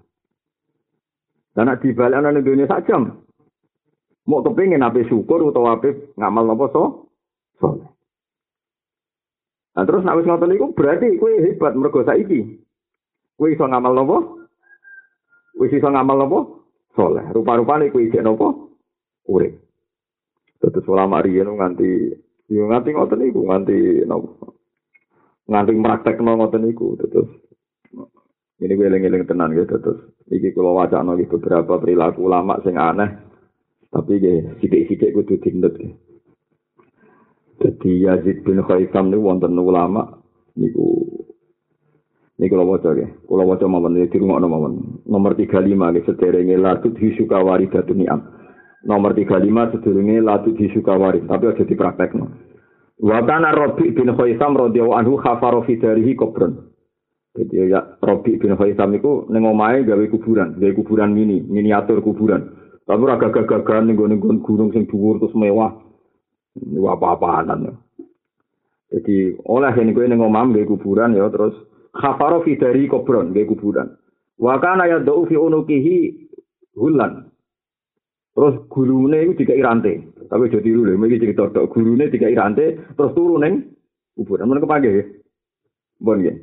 Dan nek dibalekno ning dunia sak jam, mau kepingin ape syukur utawa ape ngamal napa saleh. Nah terus nek wis ngoten niku berarti kowe hebat mergo saiki Kowe iso ngamal napa? Wis iso ngamal napa? Saleh. Rupa-rupane kowe isih napa? Urip. Terus ulama riyen nganti ngoten niku, nganti napa? Nganti praktekno ngoten niku terus. Ini gue eling-eling tenan gitu terus. Iki kula wacana iki beberapa perilaku ulama sing aneh. Tapi nggih sithik-sithik kudu dinut. Jadi Yazid bin Khaisam niku wonten ulama niku kula waca nggih. Kula waca mawon iki dirungokno mawon. Nomor 35 nggih sederenge latut hisuka waridatun ni'am. Nomor 35 sederenge latut hisuka warid, tapi aja dipraktekno. Wa kana Rabi bin Khaisam radhiyallahu anhu khafara fi darihi qabran. Jadi ya Rabi bin Khaisam iku ning omahe gawe kuburan miniatur kuburan. Tapi ora gagah-gagahan ning gunung sing dhuwur terus mewah. Niku apa-apaan. Jadi oleh yen kowe ning omah gawe kuburan ya terus khafara fi darihi qabran gawe kuburan. Wa kana yad'u fi unukihi hulan. Terus gurune iku dikai rantai. Tapi aja tiru lho, iki cerita tok gurune dikai rantai terus turu ning kuburan. Men kepake nggih. Bon nggih.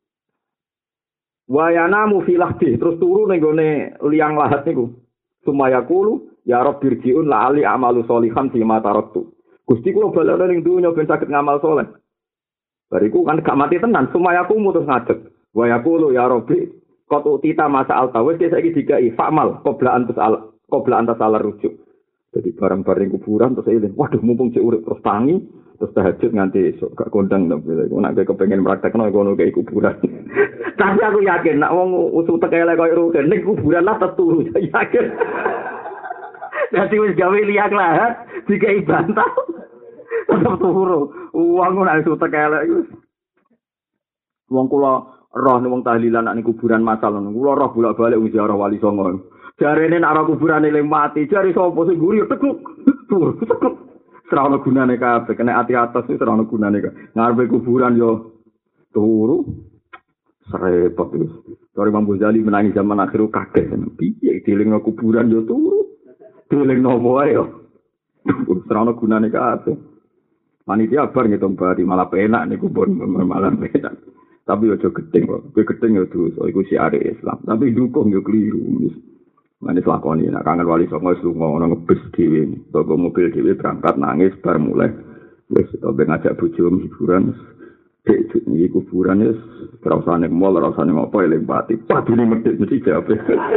Wayana mufilahdi terus turu ning gone liang lahat niku. Sumaya kulu ya rabbirjiun la ali amalu sholihan fi ma taraktu. Gusti kula balane ning dunya ben saged ngamal saleh. Bariku kan gak mati tenan, sumaya ku mutus ngadeg. Waya kulu ya rabbi qad utita masa altawis saiki dikai fa'mal qabla antas ala rujuk. Jadi barang-barang kuburan terus eling, waduh mumpung cek urip terus tangi terus tahajud nganti esuk gak kondang to bila nek kepengin praktekno ngono kayak kuburan. Tapi aku yakin nek wong usul tekele koyo rugen ning kuburan lah teturu yakin. Dadi wis gawe liak lahat dikai bantal. Tetep turu. Wong nek usul tekele iku. Wong kula roh ning wong tahlilan nek kuburan masal ngono. Kula roh bolak-balik wis ziarah Wali Songo. Jarene nek ora kuburane eling mati, jare sapa sing guri tekuk. Tekuk. Ora ono gunane kabeh, kena ati atas itu ora ono gunane kabeh. Ngarepe kuburan yo turu. Serepot itu. Dari Imam Ghazali menangi zaman akhir kaget. Piye dilingno kuburan yo turu. Dilingno wae yo. Ora ono gunane kabeh. Panitia bar ngitung bari malah penak niku pun malah penak. Tapi aja gedeng kok. Kowe gedeng yo dosa iku siare Islam. Tapi dukung yo keliru. Manis lakoni, nak kangen Wali Songo lunga ono ngebes dhewe, toko mobil dhewe berangkat nangis bar mulai. Wis to ben ngajak bojo hiburan. Dek iki kuburan wis ora usah ning mall, ora usah ning apa eling pati. Padune medhit mesti jawab.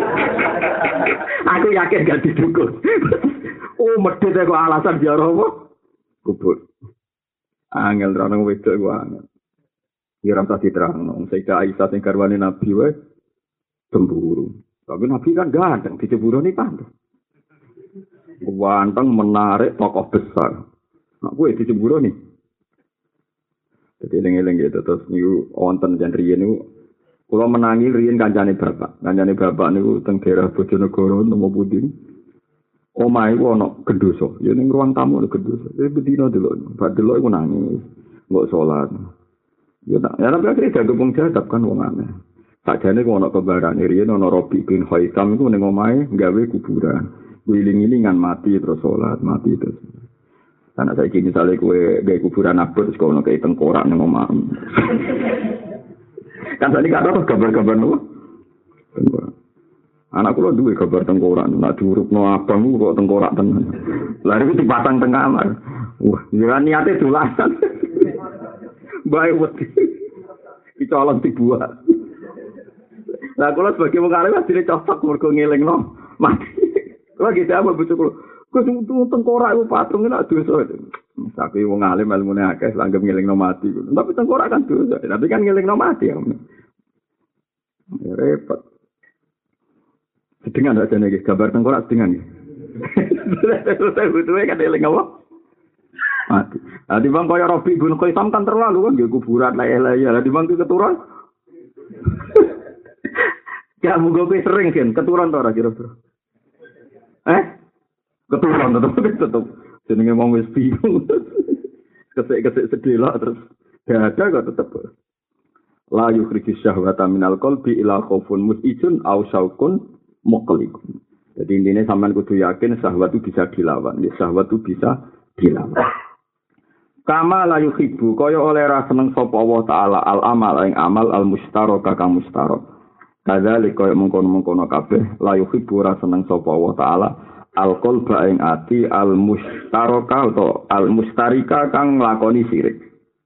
Aku yakin gak didukung. Oh, medhit kok alasan ziarah apa? Kubur. Angel rono wedok ku angel. Ya ora usah diterangno. Sayyidah Aisyah sing garwane Nabi wae cemburu. Tapi Nabi kan ganteng, di cemburu ini pandai. Ganteng menarik tokoh besar. Nah, gue di cemburu nih. Jadi eling-eling gitu. Terus niku wonten jan riyen niku kula menangi riyen kancane bapak. Kancane bapak niku teng daerah Bojonegoro napa pundi. Omahe ku ana gendhoso. Ya ning ruang tamu ana gendhoso. Bedino delok. Bak delok iku nangis. Mbok salat. Ya tapi akhirnya gabung jadab kan wong aneh. Sakjane ku ana kebarane riyen ana Rabi bin Khaisam iku ning omahe gawe kuburan. Wiling-wilingan mati terus salat, mati terus. Karena saiki misale kowe gawe kuburan abot terus kono kaya tengkorak ning omah. Kan tadi kan ada gambar-gambar nopo? Anak kula duwe gambar tengkorak, nek diurupno abang kok tengkorak tenan. Lah iki dipasang teng kamar. Wah, ya niate dolanan. Bae wedi. Dicolong dibuat. Lah kula sebagai wong alim asline cocok mergo ngelingno mati. Kula gitu apa bojoku. Kok tengkorak iku patung nek dosa. Tapi wong alim ilmune akeh langgep ngelingno mati. Tapi tengkorak kan dosa. Tapi kan ngelingno mati ya. Ya repot. Sedengan aja nih gambar tengkorak sedengan. Saya butuhnya kan eling apa? Mati. Nah, di bang kaya Rabi bin Khaisam kan terlalu kan nggih kuburan laya-laya. Lah di bang keturun. Ya mugo kowe sering kan keturun to ora kira-kira. Keturun tetep. Jenenge wong wis bingung. Kesek-kesek sedelok terus ada kok tetep. La yukhriju syahwata minal qalbi ila khaufun musijun aw syauqun muqliqun. Jadi intinya sampean kudu yakin syahwat itu bisa dilawan. Ya syahwat itu bisa dilawan. Kama la yuhibbu kaya oleh ra seneng sapa Allah taala al amal ing amal al mustaraka kang mustarok. Kadzalik kaya mengkono-mengkono kabeh la yuhibbu ora seneng sapa Allah taala al-qalba ing ati al-mustaraka atau al-mustarika kang nglakoni sirik.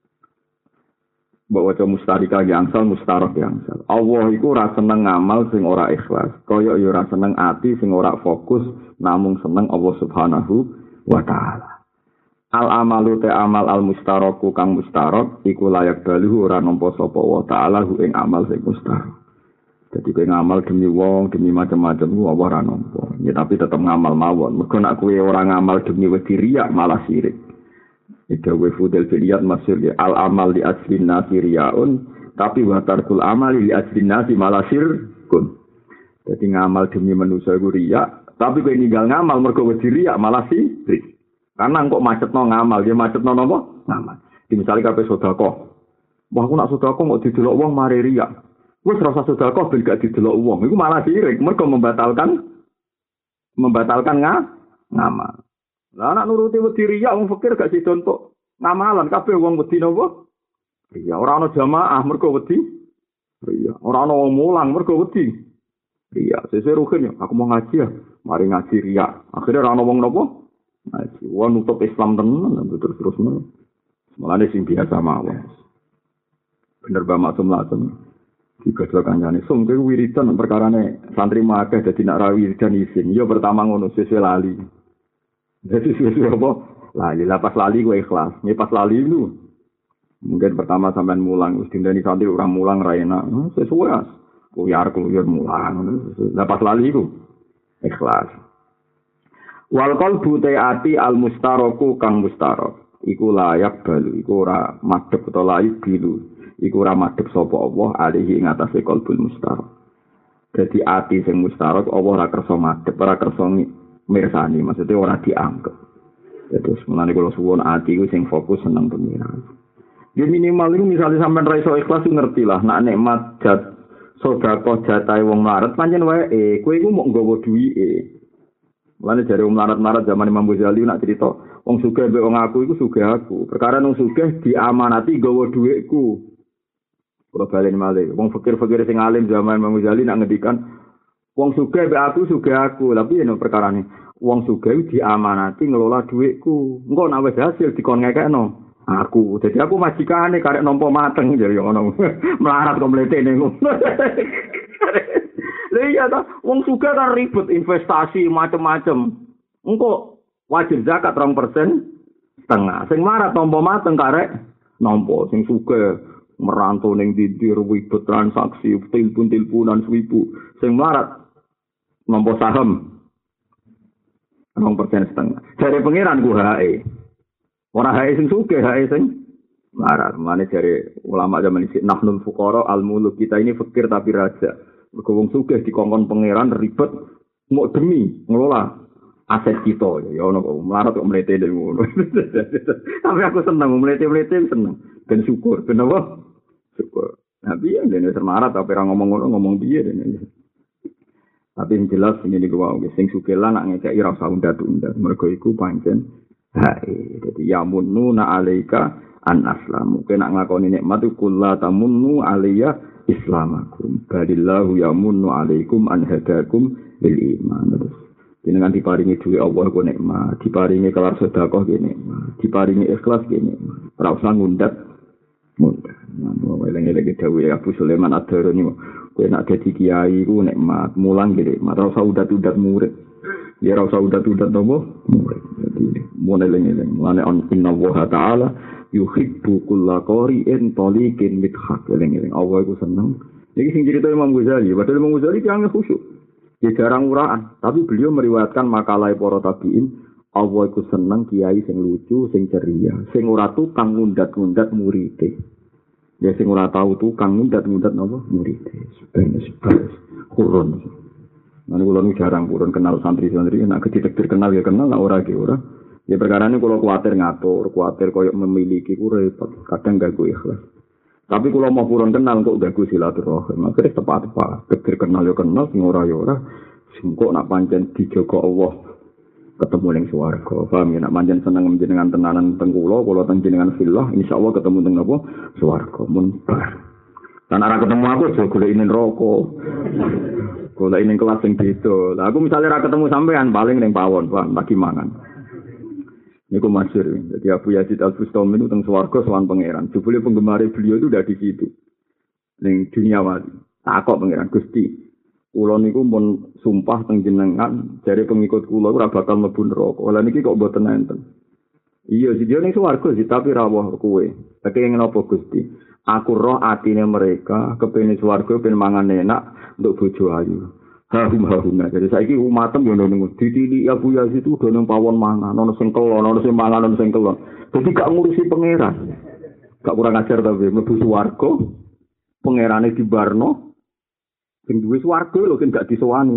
Mbok waca mustarika yangsal mustarak yangsal. Allah iku ora seneng ngamal sing ora ikhlas. Kaya ya ora seneng ati sing ora fokus namung seneng Allah Subhanahu wa taala. Al-amalu te amal al-mustaraku kang mustarak iku layak baluhu ora nampa sapa wa taala ing amal sing mustarak. Jadi kowe ngamal demi wong, demi macam-macam ku apa ora nampa. Ya tapi tetep ngamal mawon. Mergo nek kowe ora ngamal demi wedi riya malah sirik. Itu wa fudel filiyat masyhur ya al-amal li ajlin nasi riyaun tapi wa tarkul amali li ajlin nasi malah sirkun. Jadi ngamal demi manusa iku riya, tapi kowe ninggal ngamal mergo wedi riya malah sirik. Karena kok macetno ngamal, dia macetno napa? Ngamal. Di misalnya kabeh sedekah. Wah aku nak sedekah kok didelok wong mari riya. Wes rasa sedekah ben gak didelok wong. Iku malah sirik, mergo membatalkan ngamal. Lah anak nuruti wedi riya wong fakir gak sida entuk ngamalan kabeh wong wedi napa? Riya. Ora ana jamaah mergo wedi riya. Ora ana wong mulang mergo wedi riya. Sesuk rugen ya, aku mau ngaji ya. Mari ngaji riya. Akhirnya ora ana wong napa? Ngaji. Wong nutup Islam tenan terus mulane sing biasa mawon. Bener Mbak Maksum langsung digodhog kancane. Sum kowe wiridan perkarane santri akeh dadi nak ra wiridan isin. Ya pertama ngono sesuai lali. Jadi sesuai apa? Lali. Lah pas lali kowe ikhlas. Nek pas lali lu mungkin pertama sampean mulang wis dindani santri ora mulang ra enak. Sesuai kuyar mulang. Lah pas lali iku ikhlas. Wal qalbu ta'ati al mustaraku kang mustarak. Iku layak balu, iku ora madhep utawa layak bilu. Iku ora madhep sapa Allah alihi ing atase qalbul mustarak. Dadi ati sing mustarak Allah ora kersa madhep, ora kersa mirsani, maksudnya ora dianggep. Terus mulane kula suwun ati iku sing fokus seneng pengiran. Ya minimal iku misale sampean ra iso ikhlas ngerti lah, nek nikmat sedekah jatahe wong mlarat pancen wae kowe iku mok nggawa duwike. Mulane jare wong mlarat-mlarat zaman Imam Ghazali nak cerita, wong sugih mbek wong aku iku sugih aku. Perkara wong sugih diamanati nggawa dhuwitku. Kula balen malih. Wong fakir-fakir sing alim zaman Imam Ghazali nak ngendikan wong sugih mbek aku sugih aku. Lah piye no perkarane? Wong sugih diamanati ngelola dhuwitku. Engko nek wis hasil dikon ngekekno aku. Jadi aku majikane karek nampa mateng jare ngono. Melarat kok mletene ngono. Lha iya ta, wong sugih kan ribet investasi macam-macam. Engko wajib zakat 2% setengah. Sing marat nampa mateng karek nampa sing sugih merantau ning dindir ribet transaksi tilpun-tilpunan 1000. Sing melarat nampa saham 2% setengah. Jare pangeran ku hae. Ora hae sing sugih, hae sing melarat. Mane jare ulama zaman iki nahnul fuqara al-muluk, kita ini fakir tapi raja. Mergo wong sugih dikongkon pangeran ribet mau demi ngelola aset kita. Ya ono kok melarat kok mlete ngono. Tapi aku seneng mlete-mlete seneng. Ben syukur, ben apa? Syukur. Nah, piye dene semarat apa ora ngomong ngono ngomong piye dene. Tapi yang jelas ini gua sing sugih lan nak ngekeki ora usah undat-undat. Mergo iku pancen hae. Dadi ya mununa alaika an aslamu. Kena nglakoni nikmat iku la tamunnu alayya islamakum. Balillahu yamunnu alaikum an hadakum bil iman. Terus jenengan diparingi duwe Allah ku nikmat, diparingi kelar sedekah ki nikmat, diparingi ikhlas ki nikmat. Ora usah ngundat. Nah, eleng-eleng dawuh Abu Sulaiman Ad-Darani, kowe nek dadi kiai ku nikmat, mulang ki nikmat, ora usah udat-udat murid. Ya ora usah udat-udat napa murid. Dadi mun eleng-eleng, mane inna wa ta'ala yuhibbu kulla qari'in taliqin mithaq. Eleng-eleng Allah iku seneng. Iki sing cerita Imam Ghazali, padahal Imam Ghazali yang khusyuk. Dia jarang uraan, tapi beliau meriwayatkan makalah para tabi'in, Allah iku seneng kiai sing lucu, sing ceria, sing ora tukang ngundat-ngundat muride. Ya sing ora tau tukang ngundat-ngundat napa muride. Sebenarnya kurun. Mane kula nu jarang kurun kenal santri-santri, nek kedik kenal ya kenal, nek ora ki ora. Ya perkarane kula kuwatir ngatur, kuwatir koyo memiliki ku repot, kadang ganggu ikhlas. Tapi kula mau purun kenal kok ganggu silaturahim. Akhire tepat-tepat, kedik kenal ya kenal, sing ora ya ora. Sing kok nak pancen dijaga Allah ketemu ning swarga. Paham ya, nak pancen seneng jenengan tenanan teng kula teng jenengan fillah, insyaallah ketemu teng napa swarga mun bar. Karena ora ketemu aku aja golekine rokok. Golekine kelas sing beda. Lah aku misalnya ora ketemu sampean paling ning pawon, Pak, lagi mangan. Niku masyhur. Jadi Abu Yazid Al-Bustami itu teng swarga sowan pangeran. Jebule penggemar beliau itu udah di situ. Ning dunia wali. Takok pangeran Gusti. Kula niku mun sumpah teng jenengan, jare pengikut kula ora bakal mlebu neraka. Lah niki kok mboten enten. Iya, sing ning swarga sih tapi rawuh kowe. Tapi ngene apa Gusti? Aku roh atine mereka kepengin swarga ben mangan enak untuk bojo ayu. Hahum. Jadi saiki umatem yo ngono. Ditili Abu Yazid itu do nang pawon mangan, ono sing kelon, ono sing mangan, ono sing kelon. Dadi gak ngurusi pangeran. Gak kurang ajar tapi mlebu swarga. Pangerane dibarno. Sing duwe swarga lho kan gak disowani.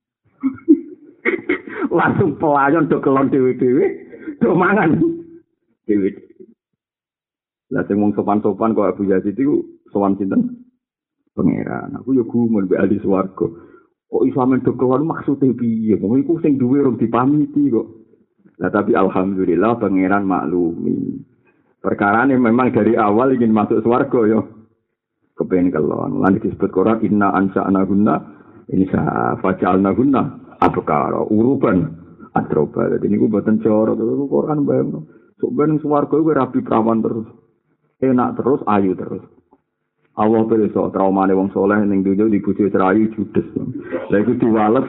Langsung pelayan do kelon dhewe-dhewe, do mangan dhewe. Lah sing wong sopan-sopan kok Abu Yazid itu sowan sinten? Pangeran. Aku yo gumun mbek ahli swarga. Kok iso men do kelon maksude piye? Wong iku sing duwe rung dipamiti kok. Lah tapi alhamdulillah pangeran maklumi. Perkarane memang dari awal ingin masuk swarga yo. Kepengen kelon. Lan disebut Quran inna ansa'nahunna insa faj'alnahunna abkara uruban atroba. Dadi niku boten cara karo Quran bayang. Sok ben swarga iku rapi prawan terus. Enak terus, ayu terus. Allah pirsa traumane wong saleh ning donya dibojo cerayu judes. Lah iku diwales.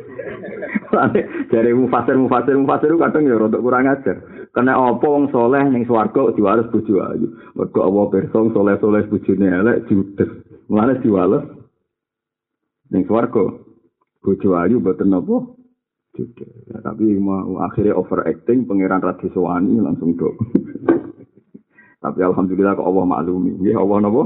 Jare mufasir kadang ya rada kurang ajar. Kena apa wong saleh ning swarga diwales bojo ayu. Mergo Allah pirsa saleh-saleh bojone elek judes. Mulane diwales ning swarga bojo ayu mboten napa judes. Ya, tapi akhirnya overacting pangeran Radiswani langsung dok. Tapi alhamdulillah kok Allah maklumi. Nggih Allah napa?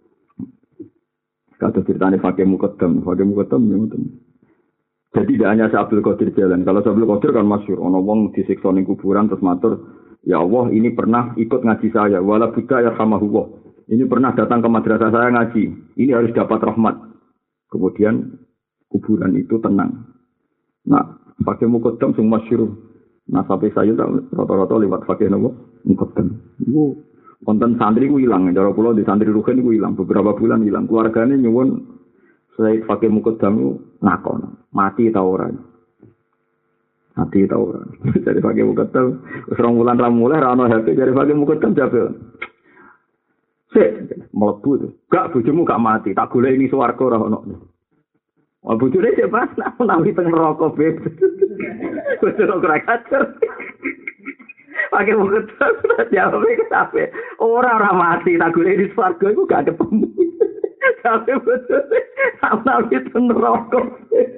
Kata ceritanya Fakih Muqaddam ya ngoten. Jadi tidak hanya Abdul Qadir jalan. Kalau Abdul Qadir kan masyhur, ana wong disiksa ning kuburan terus matur, "Ya Allah, ini pernah ikut ngaji saya, wala buddha ya samahullah. Ini pernah datang ke madrasah saya ngaji. Ini harus dapat rahmat." Kemudian kuburan itu tenang. Nah, Fakih Muqaddam sing masyhur. Nah, sampai saya rata-rata lewat Fakih Muqaddam. Konten santri ku hilang, cara kula di santri Ruhin ku hilang, beberapa bulan hilang. Keluargane nyuwun Said Fakih Muqaddam nakon, mati ta ora? Mati ta ora? Dari Fakih Muqaddam wis rong wulan ra mulih ra ono HP dari Fakih Muqaddam jabel. Sik, mlebu. Gak bojomu gak mati, tak golek ini swarga ora ono. Wah bojone sik pas nawi teng neraka beb. Wis ora kacer. Pakai muka terus jawab sampai orang mati tak gule di swarga itu gak ketemu sampai betul sampai itu neraka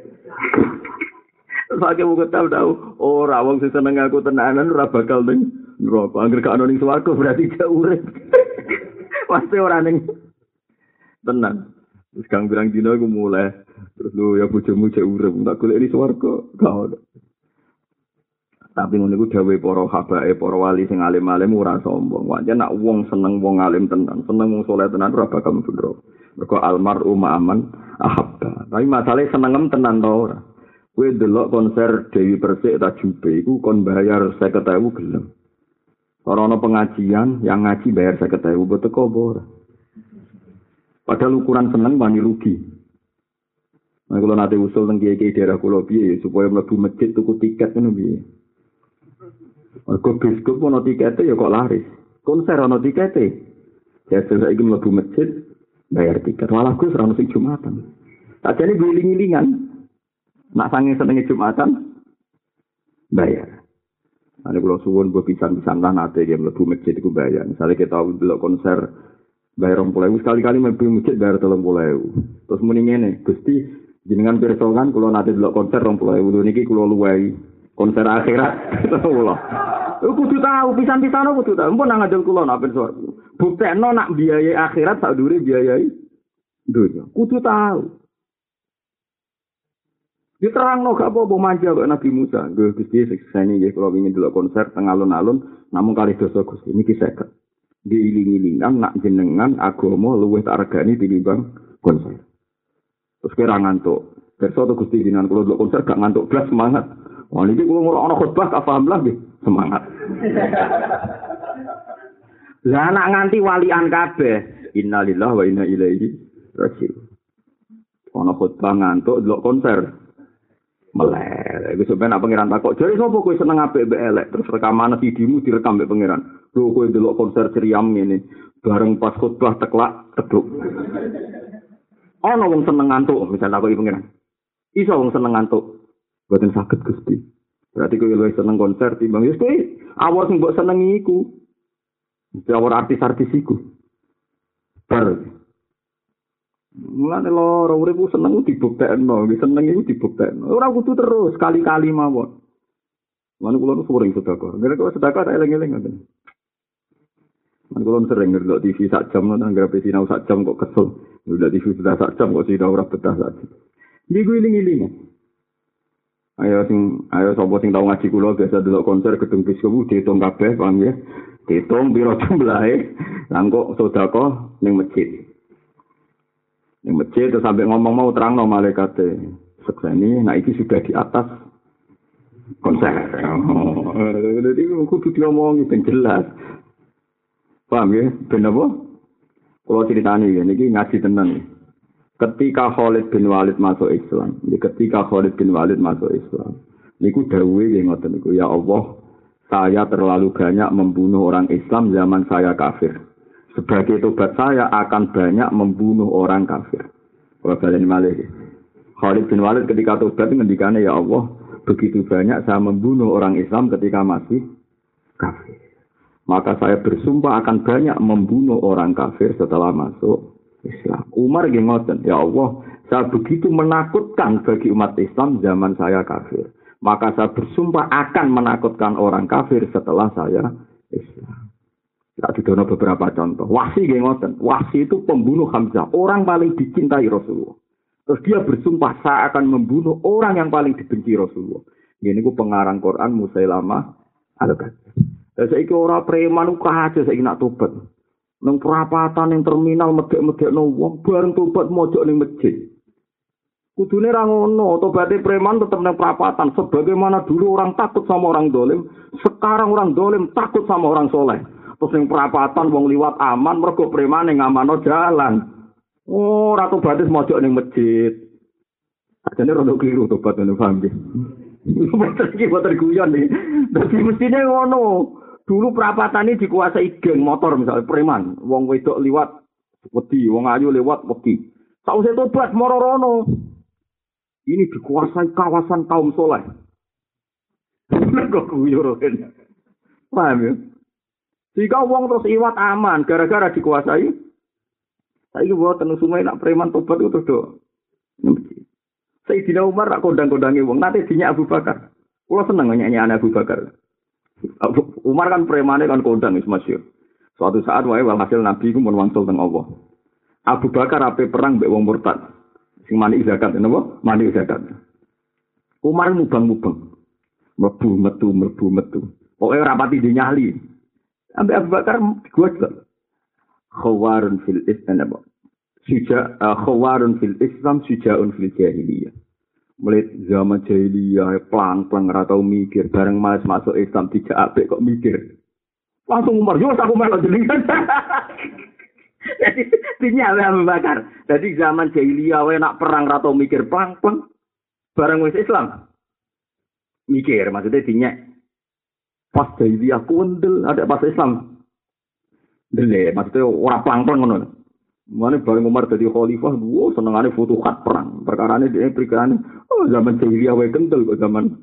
pakai muka tahu orang wong sing seneng aku tenanan ora bakal ning neraka angger gak ono ning swarga berarti jauh urip pasti ora ning tenan terus kang birang dina aku mulai terus lu ya bojomu jek urip tak golek di swarga gak ono. Tapi ngono iku dawuhe para habae, para wali sing alim-alim ora sombong. Wae nek wong seneng wong alim tenan, seneng wong saleh tenan ora bakal mundhur. Mergo almar'u ma'aman ahabba. Tapi masalahe senengem tenan ta ora. Kowe delok konser Dewi Persik ta Jube iku kon bayar 50.000 gelem. Ora ana pengajian yang ngaji bayar 50.000 mbok teko apa ora. Padahal ukuran seneng wani rugi. Nek kula nate usul teng kiai-kiai daerah kula piye supaya mlebu masjid tuku tiket ngono piye. Mergo biskop ono tikete ya kok laris. Konser ono tikete. Ya saiki mlebu masjid bayar tiket. Walah Gus ora ono sing Jumatan. Sajane giling-gilingan. Nak sange senenge Jumatan bayar. Ane kula suwun mbok pisan-pisan lah nate ya mlebu masjid iku bayar. Misale kita delok konser bayar 20.000 sekali-kali mlebu masjid bayar 30.000. Terus muni ngene, Gusti jenengan pirsa kan kula nate delok konser 20.000 niki kula luwehi. Konser akhirat kula. Kudu tahu pisan-pisan kudu tahu. Mpun nang ngajeng kula nak pirsa. Buktekno nak biayai akhirat sak dure biayai dunya. Kudu tahu. Diterangno gak apa-apa manja kok Nabi Musa. Nggih Gusti sekseni nggih kula wingi delok konser teng alun-alun namung kalih dosa Gusti niki 50. Diiling-ilingan nak jenengan agama luwih tak regani tinimbang konser. Terus kira ngantuk. Pirsa to Gusti jenengan kula delok konser gak ngantuk blas semangat. Wah ini kalau ngurang khutbah tak paham lah semangat. Lah anak nganti walian kabeh. Innalillahi wa inna ilaihi Rajil. Ana khotbah ngantuk delok konser. Melek. Iku sampeyan pangeran takok, "Jare sapa kowe seneng apik mbek elek?" Terus rekaman CD-mu direkam mbek pangeran. Lho kowe delok konser Ceriam ngene. Bareng pas khotbah teklak teduk. Ana wong seneng ngantuk, misal takoki pangeran. Iso wong seneng ngantuk. Mboten saged Gusti. Berarti kowe luwih seneng konser timbang wis kowe awor sing mbok senengi iku. Awor artis-artis iku. Bar. Mulane loro urip seneng dibuktekno, seneng iku dibuktekno. Ora kudu terus kali-kali mawon. Lan kula nu sering sedekah. Gara-gara sedekah tak eling-eling ngoten. Lan kula sering ndelok TV sak jam nang anggere sinau sak jam kok kesel. Ndelok TV sudah sak jam kok sinau ora betah sak jam. Niku iling-iling. Ayo sapa sing tau ngaji kula biasa delok konser gedung bioskop diitung kabeh, paham ya? Diitung piro jumlahe, lan kok sedekah ning masjid. Ning masjid terus sampai ngomong mau terangno malaikate. Sekseni, nah iki sudah di atas konser. Jadi kudu diomongi ben jelas. Paham ya? Ben apa? Kalau ceritani niki ngaji tenan. Ketika Khalid bin Walid masuk Islam, niku dawuhe nggih ngoten niku, ya Allah, saya terlalu banyak membunuh orang Islam zaman saya kafir. Sebagai tobat saya akan banyak membunuh orang kafir. Kalau baleni malih. Khalid bin Walid ketika tobat ngendikane, ya Allah, begitu banyak saya membunuh orang Islam ketika masih kafir. Maka saya bersumpah akan banyak membunuh orang kafir setelah masuk Islam. Umar nggih ngoten, ya Allah, saya begitu menakutkan bagi umat Islam zaman saya kafir. Maka saya bersumpah akan menakutkan orang kafir setelah saya Islam. Tak didono beberapa contoh. Wahsy nggih ngoten. Wahsy itu pembunuh Hamzah, orang paling dicintai Rasulullah. Terus dia bersumpah saya akan membunuh orang yang paling dibenci Rasulullah. Ini ku pengarang Quran Musailamah al-Kadzdzab. Saiki ora preman ukah aja saiki nak tobat. Nang perapatan ning terminal medhek-medhekno wong bareng tobat mojok ning masjid. Kudune ra ngono, tobaté preman tetep nang perapatan. Sebagaimana dulu orang takut sama orang dolim, sekarang orang dolim takut sama orang soleh. Terus ning perapatan wong liwat aman mergo preman ning ngamano jalan. Oh, ora tobaté mojok ning masjid. Ajane rada keliru tobat ngono paham nggih. Iki boten guyon iki. Dadi mestine ngono. Dulu perapatan ini dikuasai geng motor misalnya preman, wong wedok liwat wedi, wong ayu lewat wedi. Sausé tobat moro-rono. Ini dikuasai kawasan kaum soleh. Kok kuyuran. Paham ya? Jika wong terus iwat aman gara-gara dikuasai. Saiki boten sungai nak preman tobat itu terus do. Sayyidina Umar rak kondang-kondangi wong, nate dinyak Abu Bakar. Kula seneng nyanyi Abu Bakar. Umar kan premane kan kondang wis masyhur. Suatu saat wae walhasil Nabi ku mun wangsul teng Allah. Abu Bakar ape perang mbek wong murtad. Sing mani zakat napa? Mani zakat. Umar mubang-mubang. Mlebu metu. Pokoke ora pati dinyali. Ambek Abu Bakar digojlok. Khawarun fil Islam. Khawarun fil Islam sujaun fil jahiliyah. Mulai zaman jahiliyah, pelang-pelang ratau mikir, bareng mas masuk Islam tidak apik kok mikir. Langsung Umar, yo aku melok jenengan. Jadi dinyale Abu Bakar. Jadi zaman jahiliyah wae nak perang ratau mikir pelang-pelang, bareng wis Islam. Mikir maksudnya dinyek. Pas jahiliyah kundel, ada pas Islam. Dele, maksudnya ora pelang-pelang ngono. Mana bareng Umar jadi khalifah, senengane futuhat perang. Perkarane dia perkarane, zaman jahiliyah wae kental kok zaman.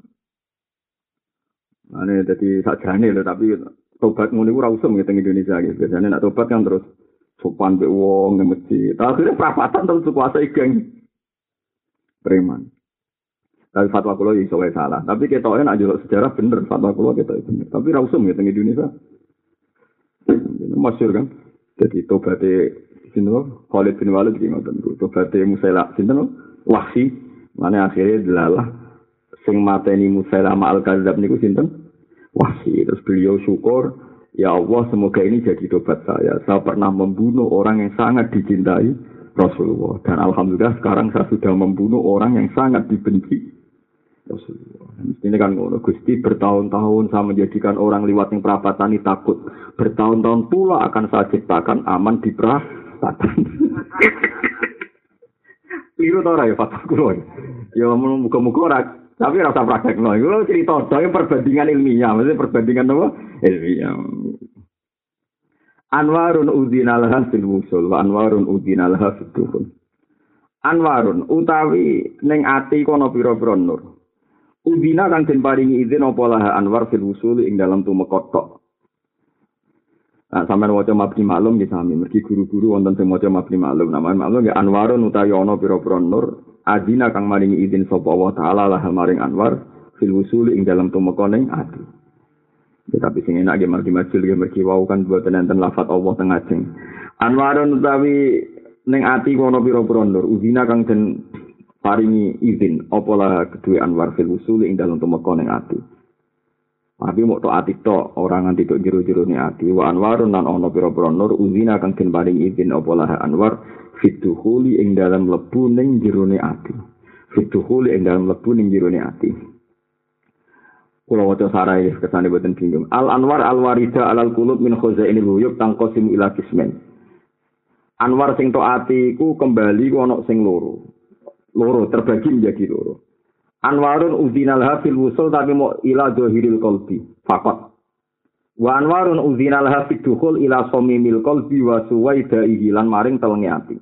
Ane dadi sakjane lho, tapi tobat ngono iku ora usum teng Indonesia iki. Biasane nak tobat kan terus sopan mbek wong nang masjid. Akhire perapatan terus kuasai geng preman. Tapi fatwa kula iso wae salah. Tapi ketoke nek njaluk sejarah bener, fatwa kula ketoke bener. Tapi ora usum teng Indonesia. Masyhur kan. Jadi tobaté sinten Khalid bin Walid iki ngoten niku. Tobaté Musailamah sinten Wahsy. Mane akhirnya delalah sing mateni Musailamah al-Kadzdzab niku sinten? Wahsy. Terus beliau syukur, ya Allah semoga ini jadi tobat saya. Saya pernah membunuh orang yang sangat dicintai Rasulullah. Dan alhamdulillah sekarang saya sudah membunuh orang yang sangat dibenci Rasulullah. Ini kan Gusti bertahun-tahun saya menjadikan orang liwat yang perapatan ini takut. Bertahun-tahun pula akan saya ciptakan aman di perapatan. satan. Liru ta ora ya fatwa kula. Ya muga-muga ora tapi rasa praktekno. Iku cerita dhewe perbandingan ilmiah, maksudnya perbandingan apa? Ilmiah. Anwarun udzinal hasil wusul wa anwarun udzinal hasil dukhul. Anwarun utawi ning ati kono pira-pira nur. Udzina kang den paringi izin apa lah anwar fil wusul ing dalam tumeka tok. Nah, sampeyan waca mabni maklum nggih sami, mergi guru-guru wonten sing maca mabni maklum. Namane maklum nggih anwarun utawi ana pira-pira nur, adina kang maringi izin sapa Allah taala lah maring anwar fil wusul ing dalam tumeka ning ati. Ya, tapi sing enak nggih margi majul nggih mergi wau kan boten enten lafat Allah teng ajeng. Anwarun utawi ning ati ana pira-pira nur, udina kang den paringi izin apa lah kedue anwar fil wusul ing dalam tumeka ning ati. Tapi mau ati tok orang nganti tok jero-jero ne ati wa anwarun lan ana pira-pira nur uzina kang den paring izin apa lah anwar fituhuli ing dalam lebu ning jero ne ati fituhuli ing dalam lebu ning jero ne ati. Kula waca sarai kesane boten bingung. Al anwar al warida alal qulub min khazainil ghuyub tangqasim ila qismain. Anwar sing tok ati iku kembali ku ana sing loro terbagi menjadi loro. Anwarun udzinal hafil wusul tapi mau ila zahiril qalbi faqat. Wa anwarun udzinal hafid dukhul ila samimil qalbi wa suwaidaihi lan maring telenge ati.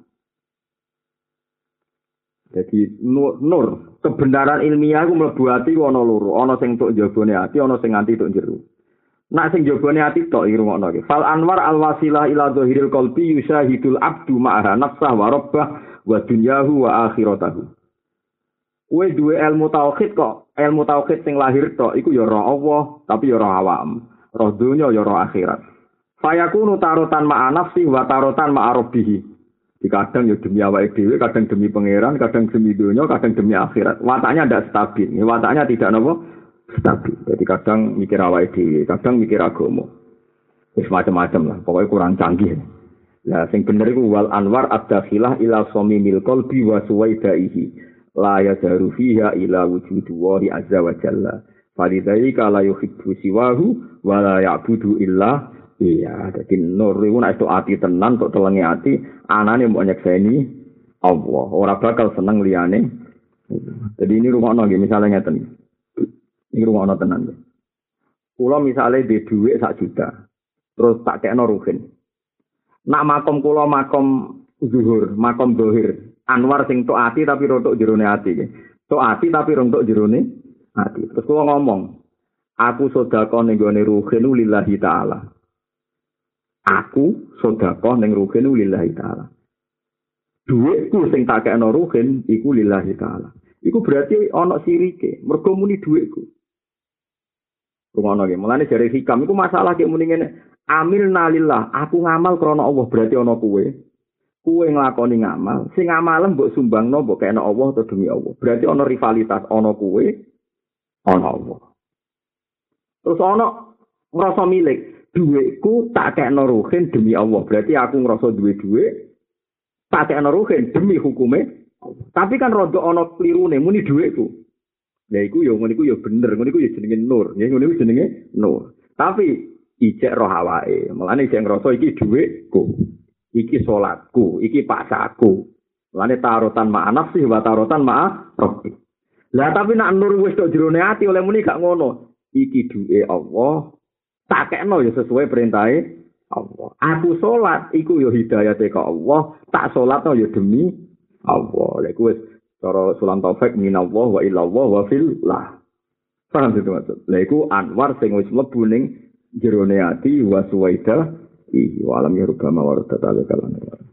Jadi nur kebenaran ilmiah ku mlebu ati ana loro, ana sing tok jabone ati, ana sing nganti tok jero. Nak sing jabone ati tok iki rungokno iki. Fal anwar al wasilah ila zahiril qalbi yusyahidul abdu ma'aha nafsah wa rabbah wa dunyahu wa akhiratahu. Kowe duwe ilmu tauhid kok, ilmu tauhid sing lahir tok iku ya roh Allah, tapi ya roh awam, roh dunya ya roh akhirat. Fayakunu tarotan ma'a nafsi wa tarotan ma'a rabbih. Kadang ya demi awake dhewe, kadang demi pangeran, kadang demi dunya, kadang demi akhirat. Wataknya ndak stabil. Ini wataknya tidak napa stabil. Jadi kadang mikir awake dhewe, kadang mikir agama. Wis macam-macam lah, pokoknya kurang canggih. Lah sing bener iku wal anwar ad-dakhilah ila samimil qalbi wa suwaidaihi. La yadaru fiha ila wujudu wahi azza wa jalla. Falidzalika la yuhibbu siwahu wa la ya'budu illa iya. Dadi nur iku nek ati tenan tok telenge ati, anane mbok nyekseni Allah. Ora bakal seneng liyane. Jadi ini rumakno nggih misale ngeten. Ini rumakno tenan nggih. Kula misale di dhuwit 1 juta. Terus tak kekno ruhin. Nak makom kula makom zuhur, makom dohir. Anwar sing tok ati tapi rontok jerone ati. Tok ati tapi rontok jerone ati. Terus kula ngomong, aku sedekah ning gone ruhin lillahi taala. Aku sedekah ning ruhin lillahi taala. Dhuwitku sing tak kekno ruhin iku lillahi taala. Iku berarti ana sirike, mergo muni dhuwitku. Rumono nggih, mulane jare hikam iku masalah kek muni ngene, amilna lillah, aku ngamal krana Allah berarti ana kuwe. Kuwe nglakoni ngamal, sing ngamalen mbok sumbangno mbok kena Allah atau demi Allah. Berarti ana rivalitas, ana kuwe, ana Allah. Terus ana ngrasa milik, dhuwitku tak kena ruhin demi Allah. Berarti aku ngrasa duwe dhuwit, tak kena ruhin demi hukume Allah. Tapi kan rada ana klirune muni dhuwitku. Lah iku ya ngono iku ya bener, ngono iku ya jenenge nur. Ya ngono iku jenenge nur. Tapi ijek roh awake, mulane ijek ngrasa iki dhuwitku. Iki salatku, iki paksaku. Lane tarotan ma'a nafsi wa tarotan ma'a rabbi. Lah tapi nak nur wis tok jerone ati oleh muni gak ngono. Iki duwe Allah, tak kekno ya sesuai perintahe Allah. Aku salat iku ya hidayate ka Allah, tak salatno ya demi Allah. Lha iku wis cara Sulam Taufik minallah wa illallah wa fillah. Paham itu maksud. Lha iku anwar sing wis mlebu ning jerone ati wa suwaida wa alam ya rubama wa radata kalan.